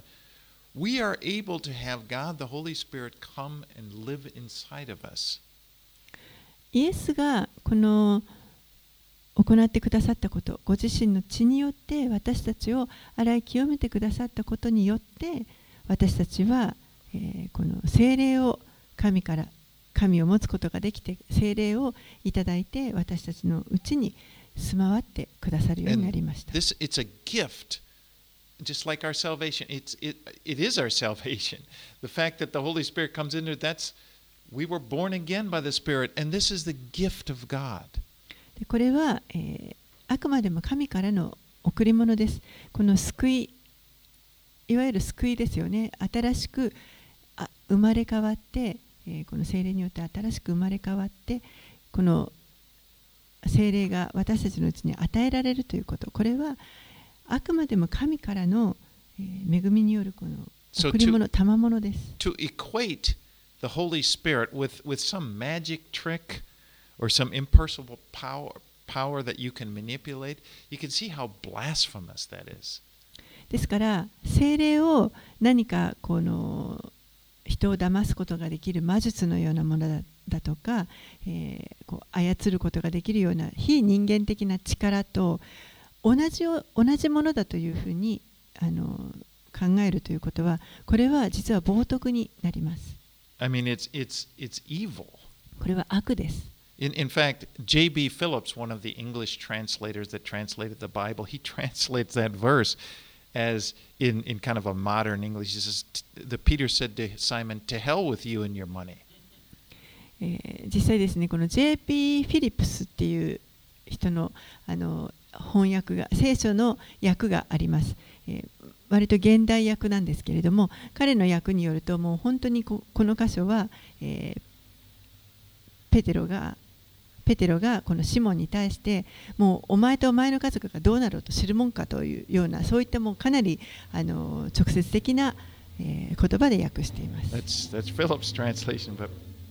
we are able to have God, the Holy Spirit, come and live inside of us. イエスがこの行ってくださったこと、ご自身の血によって私たちを洗い清めてくださったことによって、私たちは、えーこの聖霊を神から神を持つことができて、聖霊をいただいて私たちのうちに住まわってくださるようになりました。 This, it's a gift, just like our salvation. It's, it, it is our salvation. The fact that the Holy Spirit comes in there, that's, we were born again by the Spirit, and this is the gift of God. でこれは、えーあくまでも神からの贈り物です。この救い、いわゆる救いですよね。新しくあ生まれ変わって、えーこの聖霊によって新しく生まれ変わって、この聖霊が私たちのうちに与えられるということ、これはあくまでも神からの、えー恵みによるこの贈り物、賜物です。 To equate the Holy Spirit with, with some magic trick or some impersonal power, power that you can manipulate, you can see how blasphemous that is. ですから聖霊を何かこの人を騙すことができる魔術のようなもの だ, だとか、えー、こう操ることができるような非人間的な力と同じ同じものだというふうにあの考えるということは、これは実は冒涜になります。 I mean, it's, it's, it's evil. これは悪です。 In, in fact, J B Phillips, one of the English translators that translated the Bible, he translates that verse as in, in kind of a modern English. He says, the Peter said to Simon, to hell with you and your money. えー実際ですね、この ジェイピー フィリップスっていう人の、あの翻訳が、聖書の訳があります。えー割と現代訳なんですけれども、彼の訳によると、もう本当に こ, この箇所は、えー、ペテロがペテロがこのシモンに対して、もうお前とお前の家族がどうなろうと知るもんかというような、そういったもうかなりあの直接的な、えー、言葉で訳しています。 That's, that's Phillips' translation. But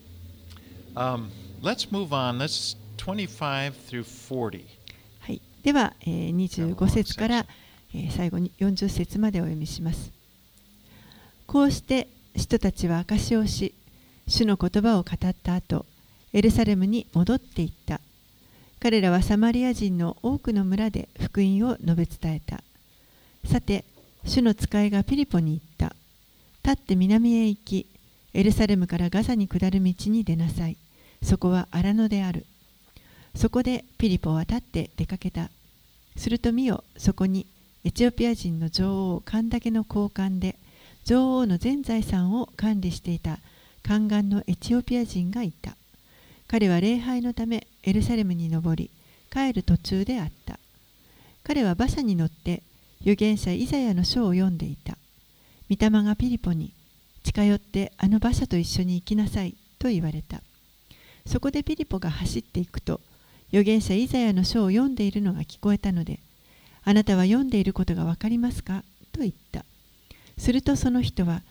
um, let's move on. Let's twenty-five through forty. はい、では、えー、にじゅうご節から、えー、最後によんじゅう節までお読みします。こうして人たちは証しをし、主の言葉を語った後、エルサレムに戻っていった。彼らはサマリア人の多くの村で福音を述べ伝えた。さて、主の使いがピリポに言った。立って南へ行き、エルサレムからガザに下る道に出なさい。そこは荒野である。そこでピリポは立って出かけた。すると見よ、そこにエチオピア人の女王カンダケの高官で、女王の全財産を管理していた宦官のエチオピア人がいた。彼は礼拝のためエルサレムに登り、帰る途中であった。彼は馬車に乗って預言者イザヤの書を読んでいた。御霊がピリポに、近寄ってあの馬車と一緒に行きなさいと言われた。そこでピリポが走っていくと、預言者イザヤの書を読んでいるのが聞こえたので、あなたは読んでいることがわかりますかと言った。するとその人は、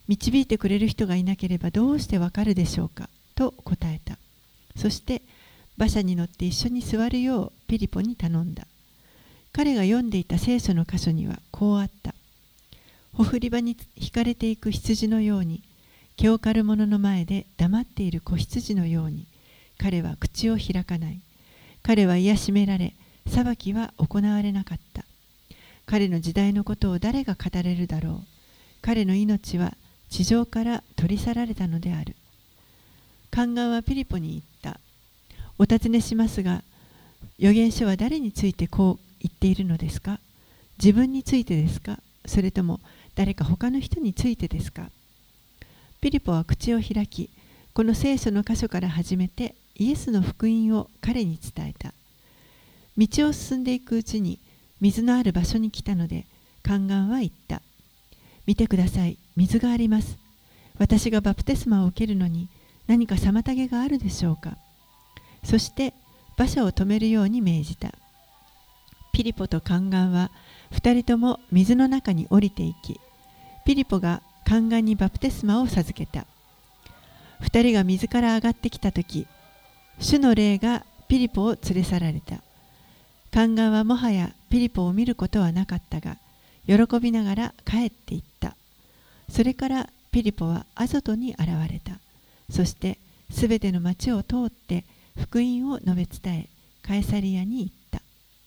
導いてくれる人がいなければどうしてわかるでしょうかと答えた。そして馬車に乗って一緒に座るようピリポに頼んだ。彼が読んでいた聖書の箇所にはこうあった。ほふり場に引かれていく羊のように、毛を刈る者の前で黙っている子羊のように、彼は口を開かない。彼は癒しめられ、裁きは行われなかった。彼の時代のことを誰が語れるだろう。彼の命は地上から取り去られたのである。宦官はピリポに言った。お尋ねしますが、預言書は誰についてこう言っているのですか？自分についてですか？それとも誰か他の人についてですか？ピリポは口を開き、この聖書の箇所から始めてイエスの福音を彼に伝えた。道を進んでいくうちに水のある場所に来たので、宦官は言った。見てください、水があります。私がバプテスマを受けるのに何か妨げがあるでしょうか。そして馬車を止めるように命じた。ピリポと宦官は二人とも水の中に降りていき、ピリポが宦官にバプテスマを授けた。二人が水から上がってきたとき、主の霊がピリポを連れ去られた。宦官はもはやピリポを見ることはなかったが、喜びながら帰っていった。それからピリポはアゾトに現れた。そしてすべての町を通って福音を述べ伝え、カエサリアに行った。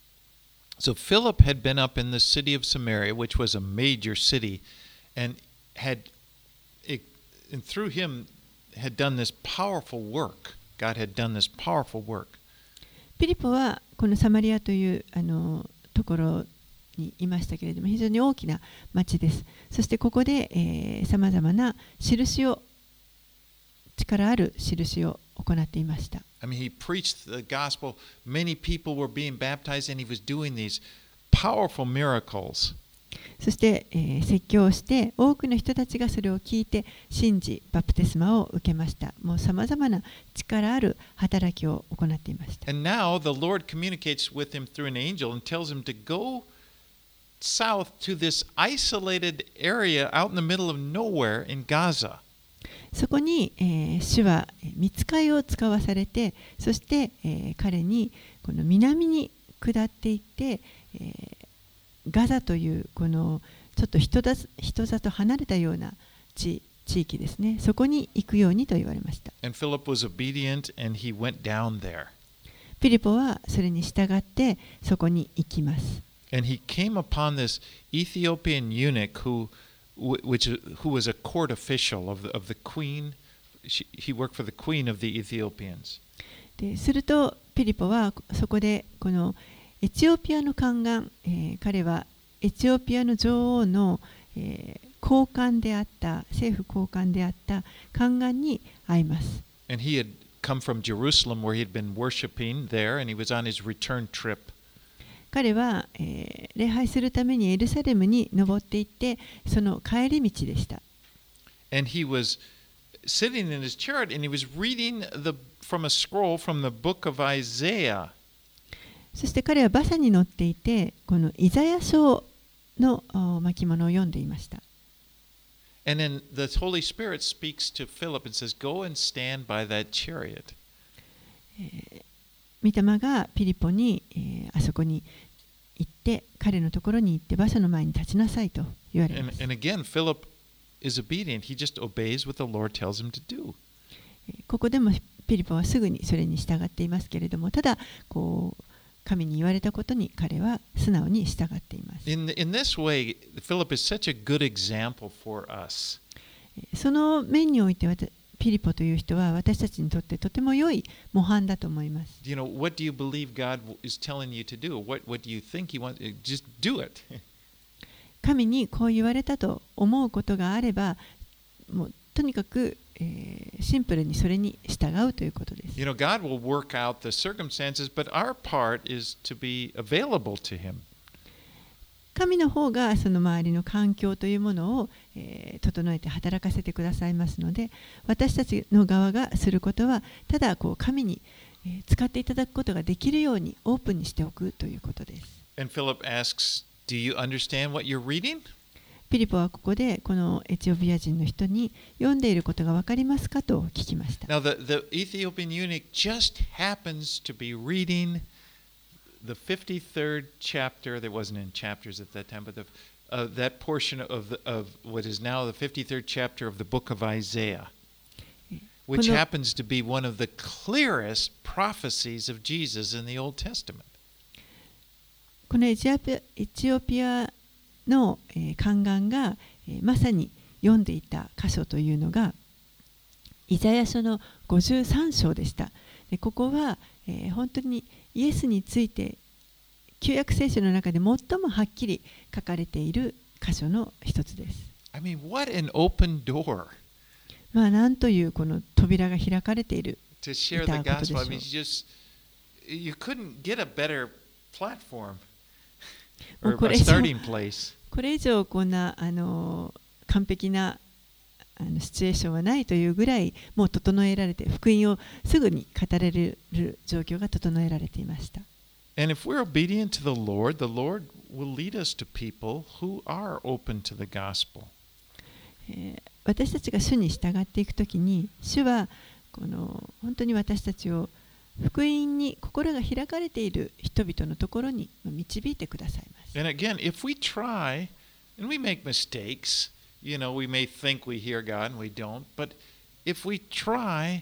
So Philip had been up in the city of Samaria, which was a major city, and had, it, and through him, had done this powerful work. God had done this powerful work. ピリポはこのサマリアというあのところにいましたけれども、非常に大きな町です。そしてここでさまざまな印を、力ある印を行っていました。 I mean, he preached the gospel. Many people were being baptized, and he was doing these powerful miracles. そして、えー、説教をして多くの人たちがそれを聞いて信じバプテスマを受けました。もうさまざまな力ある働きを行っていました。 And now the Lord communicates with him through an angel and tells him to go south to this isolated area out in the middle of nowhere in Gaza. そこに、えー、主は御使いを使わされて、そして、えー、彼にこの南に下っていって、えー、ガザというこのちょっと人だ人里離れたような 地, 地域ですね。そこに行くようにと言われました。 And Philip was obedient and he went down there. ピリポはそれに従ってそこに行きます。 And he came upon this Ethiopian eunuch who which who was a court official of the, of the queen. She, he worked for the queen of the Ethiopians. でするとピリポはそこでこのエチオピアの宦官、えー、彼はエチオピアの女王の、えー、高官であった政府高官であった宦官に会います。 And he had come from Jerusalem where he had been worshiping there, and he was on his return trip. 彼は、えー、礼拝するためにエルサレムに登っていってその帰り道でした。 And he was sitting in his chariot and he was reading the, from a scroll from the book of Isaiah. そして彼は馬車に乗っていてこのイザヤ書の巻物を読んでいました。 And then the Holy Spirit speaks to Philip and says, "Go and stand by that chariot." 御霊がピリポに、えー、あそこに行って彼のところに行って馬車の前に立ちなさいと言われます。 And, and again, Philip is obedient. He just obeys what the Lord tells him to do. ここでもピリポはすぐにそれに従っていますけれども、ただこう神に言われたことに彼は素直に従っています。 In, in this way, Philip is such a good example for us. その面においてピリポという人は私たちにとってとても良い模範だと思います。 You know, what do you believe God is telling you to do? What, what do you think He wants? Just do it. 神にこう言われたと思うことがあれば、もうとにかく、えー、シンプルにそれに従うということです。 You know, God will work out the circumstances, but our part is to be available to Him. 神の方がその周りの環境というものを、えー、整えて働かせてくださいますので、私たちの側がすることはただこう神に、えー、使っていただくことができるようにオープンにしておくということです。 And Philip asks, "Do you understand what you're reading?" ピリポはここでこのエチオピア人の人に読んでいることが分かりますかと聞きました。 Now, the, the Ethiopian eunuch just happens to be reading the fifty-third chapter. There wasn't in chapters at that time, but the, uh, that portion of, the, of what is now the fifty-third chapter of the book of Isaiah, which happens to be one of the clearest prophecies of Jesus in the Old Testament. このエチオピア、エチオピアの、えー、宦官が、えー、まさに読んでいた箇所というのがイザヤ書のごじゅうさん章でした。でここは、えー、本当にイエスについて旧約聖書の中で最もはっきり書かれている箇所の一つです。 I mean, what an open door. まあなんというこの扉が開かれている。 To share the gospel. I mean, you just you couldn't get a better platform or a starting place. これ以上こんなあの完璧なあのシチュエーションはないというぐらいもう整えられて福音をすぐに語れる状況が整えられていました。 And if we're obedient to the Lord, the Lord will lead us to people who are open to the gospel. 私たちが主に従っていくときに主はこの本当に私たちを福音に心が開かれている人々のところに導いてくださいます。 And again, if we try and we make mistakes, you know, we may think we hear God and we don't, but if we try,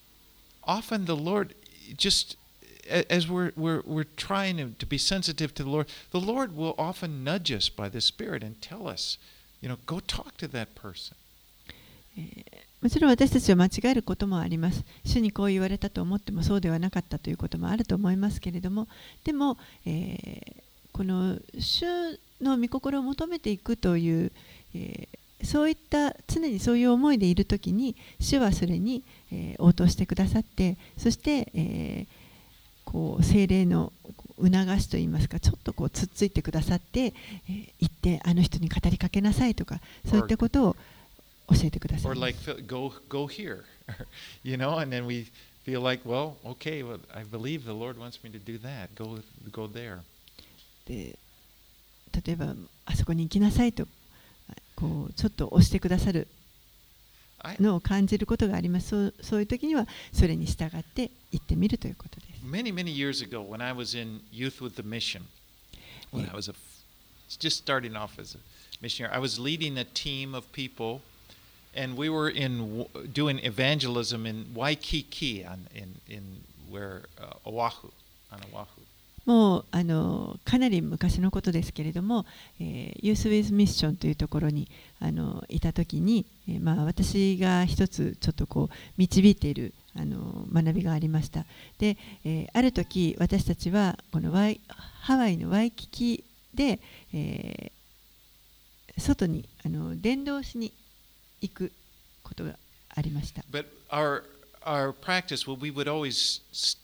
often the Lord just as we're we're we're trying to be sensitive to the Lord, the Lord will often nudge us by the Spirit and tell us, you know, go talk to that person. もちろん私たちは間違えることもあります。主にこう言われたと思ってもそうではなかったということもあると思いますけれども、でも、えー、この主の御心を求めていくという、えー、そういった常にそういう思いでいるときに主はそれに、えー、応答してくださって、そして、えー、こう聖霊の促しといいますか、ちょっとこうつっついてくださって、えー、行ってあの人に語りかけなさいとか、そういったことを教えてください。 Or like go go here, you know, and then we feel like, well, okay, well, I believe the Lord wants me to do that. Go go there. で、例えばあそこに行きなさいとこうちょっと押してくださるのを感じることがあります。そうそういう時にはそれに従って行ってみるということです。 Many many years ago, when I was in Youth with the Mission, when I was a, just starting off as a missionary, I was leading a team of people. And we were in doing evangelism in Waikiki, on, in in where uh, Oahu, on Oahu. もうあのかなり昔のことですけれども、えー、ユース・ウィズ・ミッションというところにあのいたときに、えーまあ、私が一つちょっとこう導いているあの学びがありました。で、えー、ある時私たちはこのワイハワイのワイキキで、えー、外にあの伝道しに行くことがありました。 But our our practice, well, we would always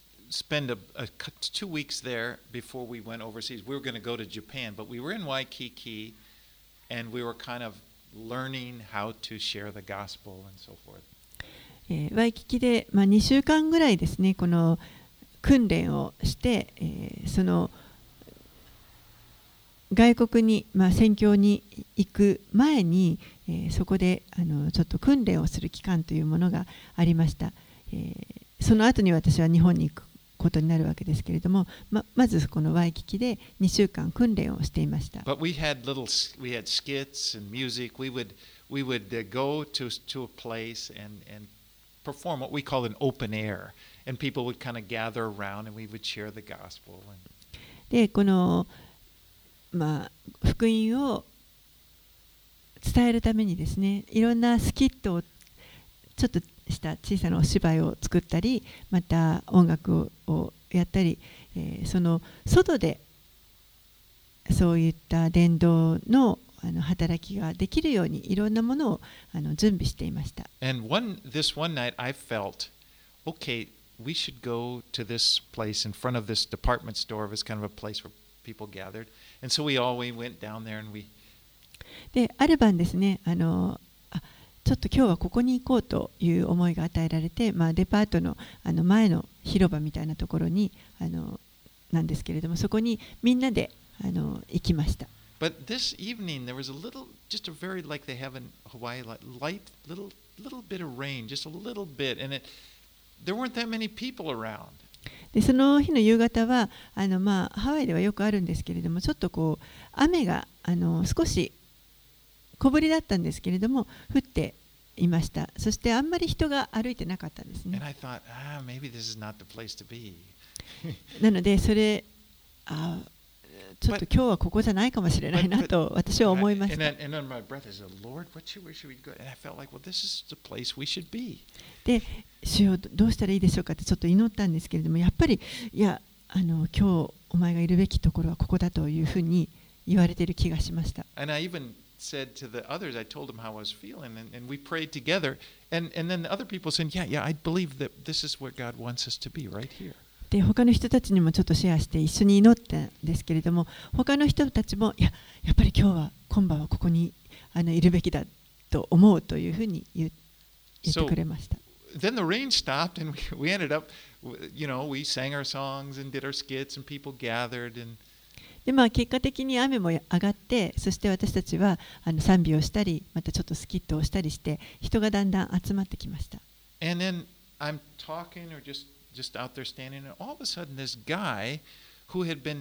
spend a, a two weeks there before we went overseas. We were going to go to Japan, but we were in Waikiki, and we were kind of learning how to share the gospel and so forth. えー、ワイキキで、まあ、にしゅうかんぐらいですね、この訓練をして、えー、その外国に、まあ、宣教に行く前に、えー、そこであのちょっと訓練をする期間というものがありました。えー、その後に私は日本に行くことになるわけですけれども、ま、まずこのワイキキでにしゅうかん訓練をしていました。 But we had little, we had skits and music. We would, we would go to to a place and and perform what we call an open air, and people would kind of gather around, and we would share the gospel. で、このまあ福音を伝えるためにですね、いろんなスキットをちょっとした小さなお芝居を作ったり、また音楽をやったり、えー、その外でそういった伝道のあの働きができるようにいろんなものをあの準備していました。 And one this one night I felt, okay, we should go to this place in front of this department store. It was kind of a place where people gathered, and so we all we went down there and we. で、ある晩ですね、あのあちょっと今日はここに行こうという思いが与えられて、まあ、デパートの、あの前の広場みたいなところにあのなんですけれども、そこにみんなであの行きました。 But this evening there was a little just a very like they have in Hawaii, like light little little bit of rain, just a little bit, and it there weren't that many people around. でその日の夕方はあの、まあ、ハワイではよくあるんですけれども、ちょっとこう雨があの少し小降りだったんですけれども降っていました。そしてあんまり人が歩いてなかったんですね。 And I thought, ah, maybe this is not the place to be. なのでそれあちょっと今日はここじゃないかもしれないなと私は思いました。 And then, and then my breath is, Lord, what should, where should we go? And I felt like, well, this is the place we should be. で、主よどうしたらいいでしょうかってちょっと祈ったんですけれども、やっぱりいやあの今日お前がいるべきところはここだというふうに言われている気がしました。 And I even said to the others, I told them how I was feeling, and, and we prayed together. And, and then the other people said, yeah, yeah, I believe that this is where God wants us to be, right here. で他の人たちにもちょっとシェアして一緒に祈ったんですけれども、他の人たちもいややっぱり今日は今晩はここにあのいるべきだと思うというふうに言言ってくれました。 So, then the rain stopped and we, we ended up, you know, we sang our songs and did our skits and people gathered and でまあ、結果的に雨も上がって、そして私たちはあの賛美をしたり、またちょっとスキットをしたりして、人がだんだん集まってきました。 And then I'm talking or just, just out there standing, and all of a sudden this guy who had been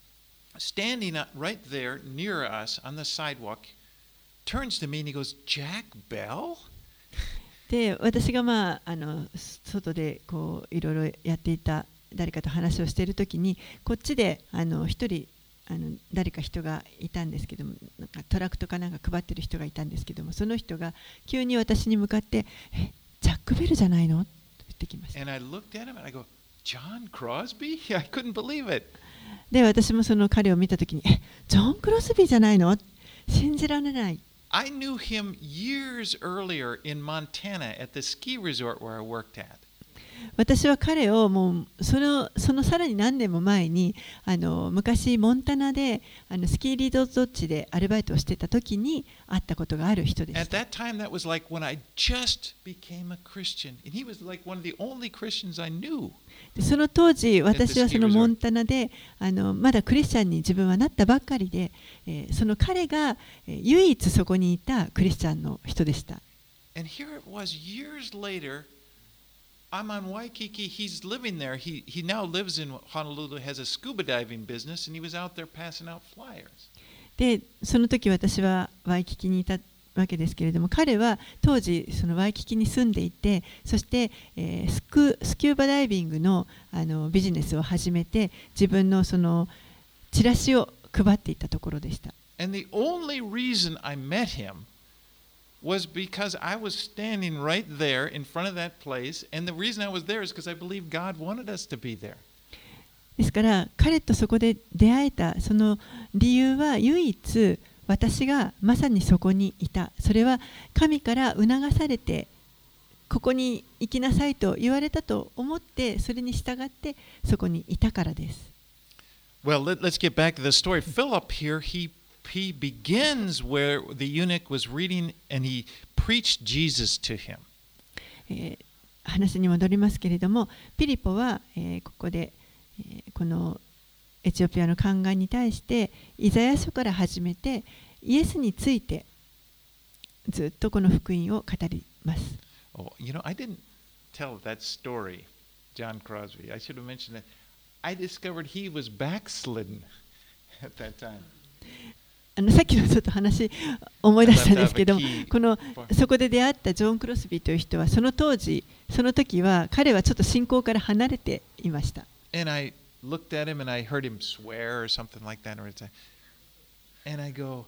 standing right there near us on the sidewalk turns to me and he goes, Jack Bell? で私が、まあ、あの外でこういろいろやっていた誰かと話をしているときに、こっちであの一人あの誰か人がいたんですけども、なんかトラクトかなんか配ってる人がいたんですけども、その人が急に私に向かって「え、ジャック・ベルじゃないの?」と言ってきました。 And I looked at him and I go, John Crosby? I couldn't believe it. で、私もその彼を見たときに「え、ジョン・クロスビーじゃないの?」信じられない。 I knew him years earlier in Montana at the ski resort where I worked at. 私は彼をもうその、そのさらに何年も前にあの昔モンタナであのスキーリゾート地でアルバイトをしていた時に会ったことがある人でした。 At that time, that was like when I just became a Christian, and he was like one of the only Christians I knew. でその当時私はそのモンタナであのまだクリスチャンに自分はなったばっかりで、えー、その彼が、えー、唯一そこにいたクリスチャンの人でした。 And here it was years later. I'm on Waikiki. He's living there. He, he now lives in Honolulu, has a scuba diving business, and he was out there passing out flyers. で、その時私はワイキキにいたわけですけれども、彼は当時そのワイキキに住んでいて、そして、えー、スク、スキューバダイビングの、あのビジネスを始めて、自分のそのチラシを配っていたところでした。 And the only reason I met him was because I was standing right there in front of that place, and the reason I was there is because I believe God wanted us to be there. ですから彼とそこで出会えたその理由は唯一私がまさにそこにいた。それは神から促されてここに行きなさいと言われたと思ってそれに従ってそこにいたからです。 Well, let, let's get back to the story. Philip here, he he begins where the eunuch was reading and he preached Jesus to him. えー、話に戻りますけれども、ピリポは、えー、ここで、えー、このエチオピアの宦官に対してイザヤ書から始めてイエスについてずっとこの福音を語ります。 Oh, you know, I didn't tell that story, John Crosby. I should have mentioned that. I discovered he was backslidden at that time. あのさっきのちょっと話思い出したんですけども、このそこで出会ったジョン・クロスビーという人はその当時、その時は彼はちょっと信仰から離れていました。 And I looked at him and I heard him swear or something like that. And I go,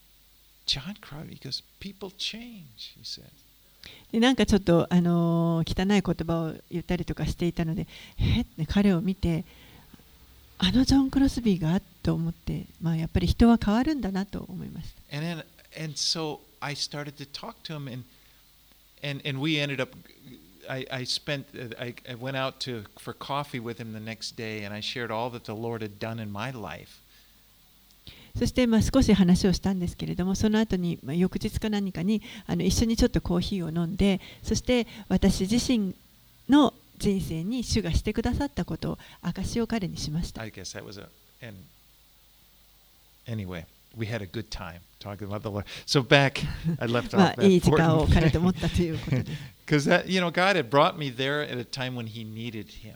John Crosby, he goes, people change, he said. でなんかちょっと、あのー、汚い言葉を言ったりとかしていたので、えっ、ね、彼を見て、あのジョン・クロスビーがと思って、まあ、やっぱり人は変わるんだなと思いました。 And then, and so I started to talk to him, and and and we ended up. I I spent. I I went out to for coffee with him the next day, and I shared all that the Lord had done in my life. そしてまあ少し話をしたんですけれども、その後にまあ翌日か何かにあの一緒にちょっとコーヒーを飲んで、そして私自身の人生に主がしてくださったことを証しを彼にしました。 I guess that was a and anyway. we had a good time talking about the Lord. So back, I left ま off あいい that 時間を important 彼と思ったということです。 because that you know God had brought me there at a time when He needed Him,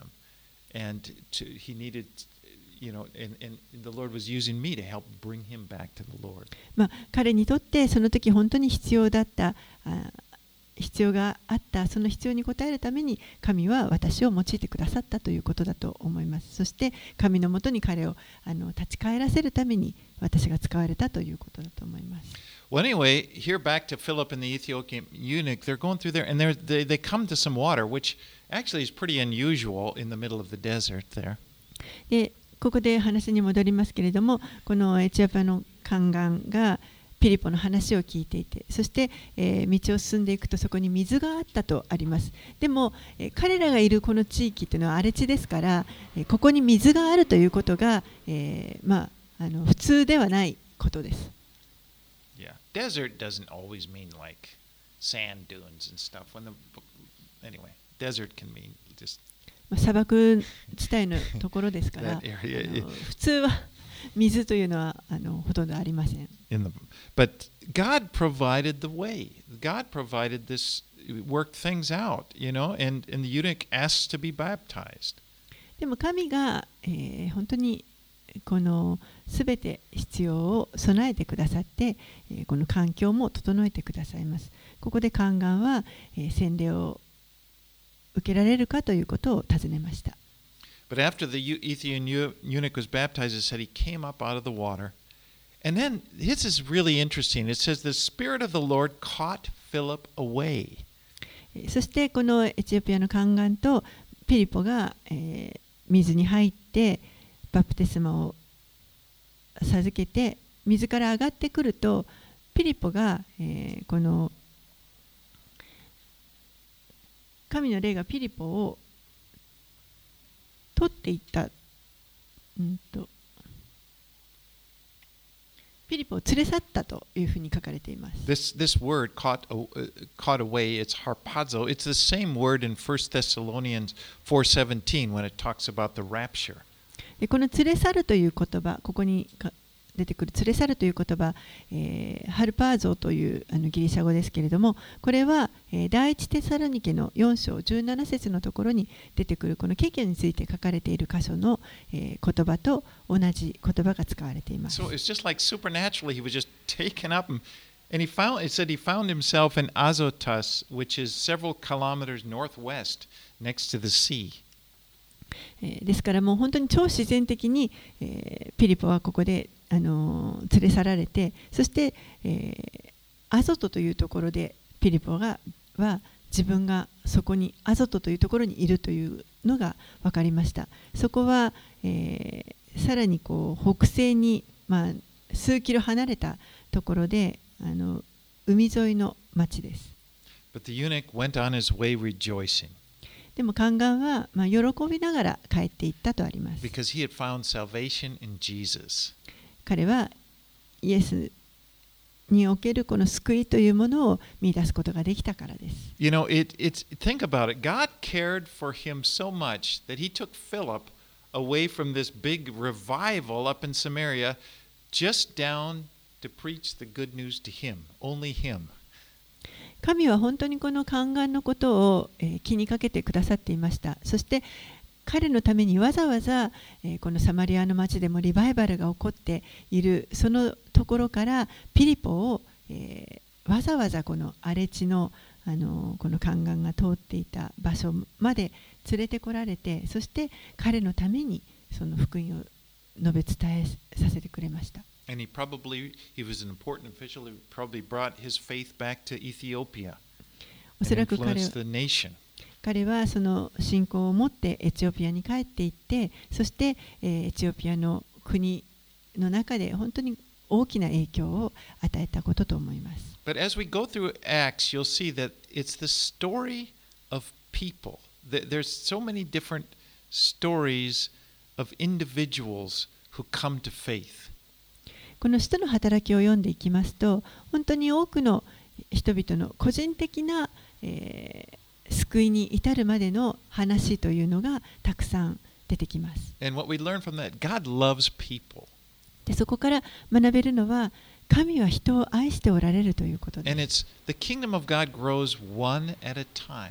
and to, He needed, you know, and, and the Lord was using me to help bring him back to the Lord. まあ彼にとってその時本当に必要だったあ必要があったその必要に応えるために神は私を用いてくださったということだと思います。そして神のもとに彼をあの立ち返らせるために私が使われたということだと思います。 Well, anyway, here back to Philip and the Ethiopian eunuch, they're going through there, and they're, they they come to some water, which actually is pretty unusual in the middle of the desert there. でここで話に戻りますけれども、このエチオピアの宦官がピリポの話を聞いていて、そして、えー、道を進んでいくとそこに水があったとあります。でも、えー、彼らがいるこの地域というのは荒れ地ですから、えー、ここに水があるということが、えー、まあ、あの普通ではないことです。 Yeah, desert doesn't always mean like sand dunes and stuff. When the anyway, desert can mean just 砂漠地帯のところですから、 that area. あの普通は水というのはあのほとんどありません。 In the, but God provided the way. God provided this, worked things out, you know, and, and the eunuch asked to be baptized. でも神が、えー、本当にこのすべて必要を備えてくださって、えー、この環境も整えてくださいます。ここで宦官は、えー、洗礼を受けられるかということを尋ねました。 But after the Ethiopian eunuch was baptized, it said he came up out of the water. And then this is really interesting. It says the Spirit of the Lord caught Philip away. そしてこのエチオピアの宦官とピリポが、えー、水に入ってバプテスマを授けて水から上がってくるとピリポが、えー、この神の霊がピリポを取っていった、うんと、ピリポを連れ去ったというふうに書かれています。 This, this word caught, uh, caught away, it's harpazo. It's the same word in First Thessalonians four seventeen when it talks about the rapture. でこの連れ去るという言葉、ここに出てくる連れ去るという言葉、えー、ハルパーゾーというあのギリシャ語ですけれども、これは、えー、第一テサロニケのよん章じゅうなな節のところに出てくるこのケケについて書かれている箇所の、えー、言葉と同じ言葉が使われています。 So it's just like supernaturally, he was just taken up and, and he found, it said he found himself in Azotus, which is several kilometers northwest next to the sea. ですからもう本当に超自然的に、えー、ピリポはここであの連れ去られて、そして、えー、アゾトというところでピリポがは自分がそこにアゾトというところにいるというのが分かりました。そこは、えー、さらにこう北西に、まあ、数キロ離れたところであの海沿いの町です。 But the eunuch went on his way rejoicing. でも宦官は、まあ、喜びながら帰っていったとあります。 Because he had found salvation in Jesus. 彼はイエスにおけるこの救いというものを見出すことができたからです。 You know, it, it's, think about it. God cared for him so much that he took Philip away from this big revival up in Samaria just down to preach the good news to him, only him. 神は本当にこの宦官のことを、えー、気にかけてくださっていました。そして彼のためにわざわざ、えー、このサマリアの町でもリバイバルが起こっているそのところからピリポを、えー、わざわざこの荒れ地の、あのー、この宦官が通っていた場所まで連れてこられて、そして彼のためにその福音を述べ伝えさせてくれました。 And he probably, he was an important official, he probably brought his faith back to Ethiopia and influenced the nation. 彼はその信仰を持ってエチオピアに帰っていって、そして、えー、エチオピアの国の中で本当に大きな影響を与えたことと思います。 But as we go through Acts, you'll see that it's the story of people. There's so many different stories of individuals who come to faith. この使徒の働きを読んでいきますと、本当に多くの人々の個人的な、えー救いに至るまでの話というのがたくさん出てきます。 And what we learn from that, God loves people. でそこから学べるのは、神は人を愛しておられるということです。 And it's the kingdom of God grows one at a time.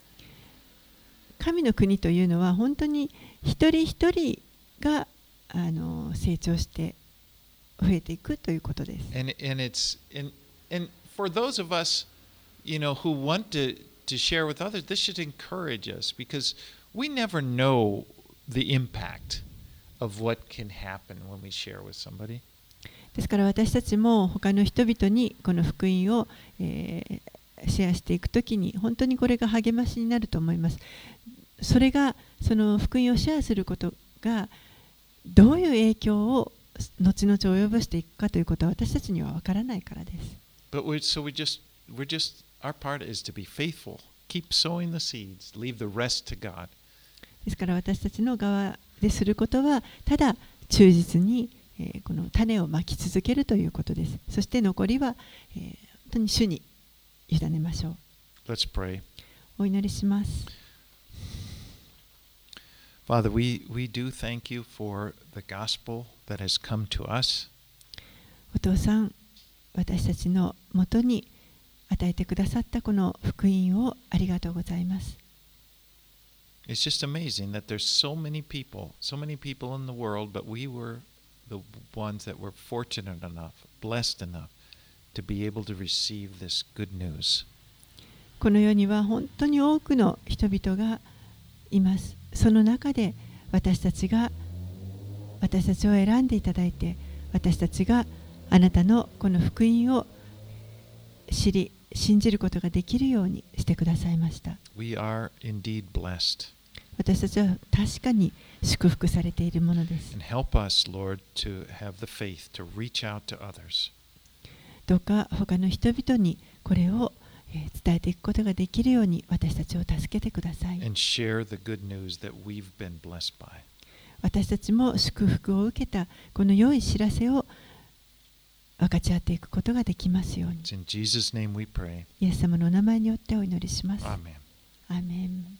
神の国というのは本当に一人一人があの成長して増えていくということです。 And and it's and and for those of us, you know, who want to to share with others, this should encourage us because we never know the impact of what can happen when we share with somebody. ですから私たちも他の人々にこの福音を、えー、シェアしていくときに本当にこれが励ましになると思います。それがその福音をシェアすることがどういう影響を後々及ぼしていくかということは私たちには分からないからです。 But we so we just we're just our part is to be faithful, keep sowing the seeds, leave the rest to God. ですから私たちの側ですることはただ忠実に、えー、この種をまき続けるということです。そして残りは、えー、本当に主に委ねましょう。 Let's pray. お祈りします。 Father, we, we do thank you for the gospel that has come to us. お父さん、私たちのもとに与えてくださったこの福音をありがとうございます。 It's just amazing that there's so many people, so many people in the world, but we were the ones that were fortunate enough, blessed enough to be able to receive this good news. この世には本当に多くの人々がいます。その中で私たちが私たちを選んでいただいて、私たちがあなたのこの福音を知り信じることができるようにしてくださいました。 We are indeed blessed. 私たちは確かに祝福されているものです。 And help us, Lord, to have the faith to reach out to others. どうか他の人々にこれを伝えていくことができるように私たちを助けてください。 And share the good news that we've been blessed by. 私たちも祝福を受けたこの良い知らせを分かち合っていくことができますように。 It's in Jesus' name we pray. イエス様のお名前によってお祈りします。 Amen. アーメン。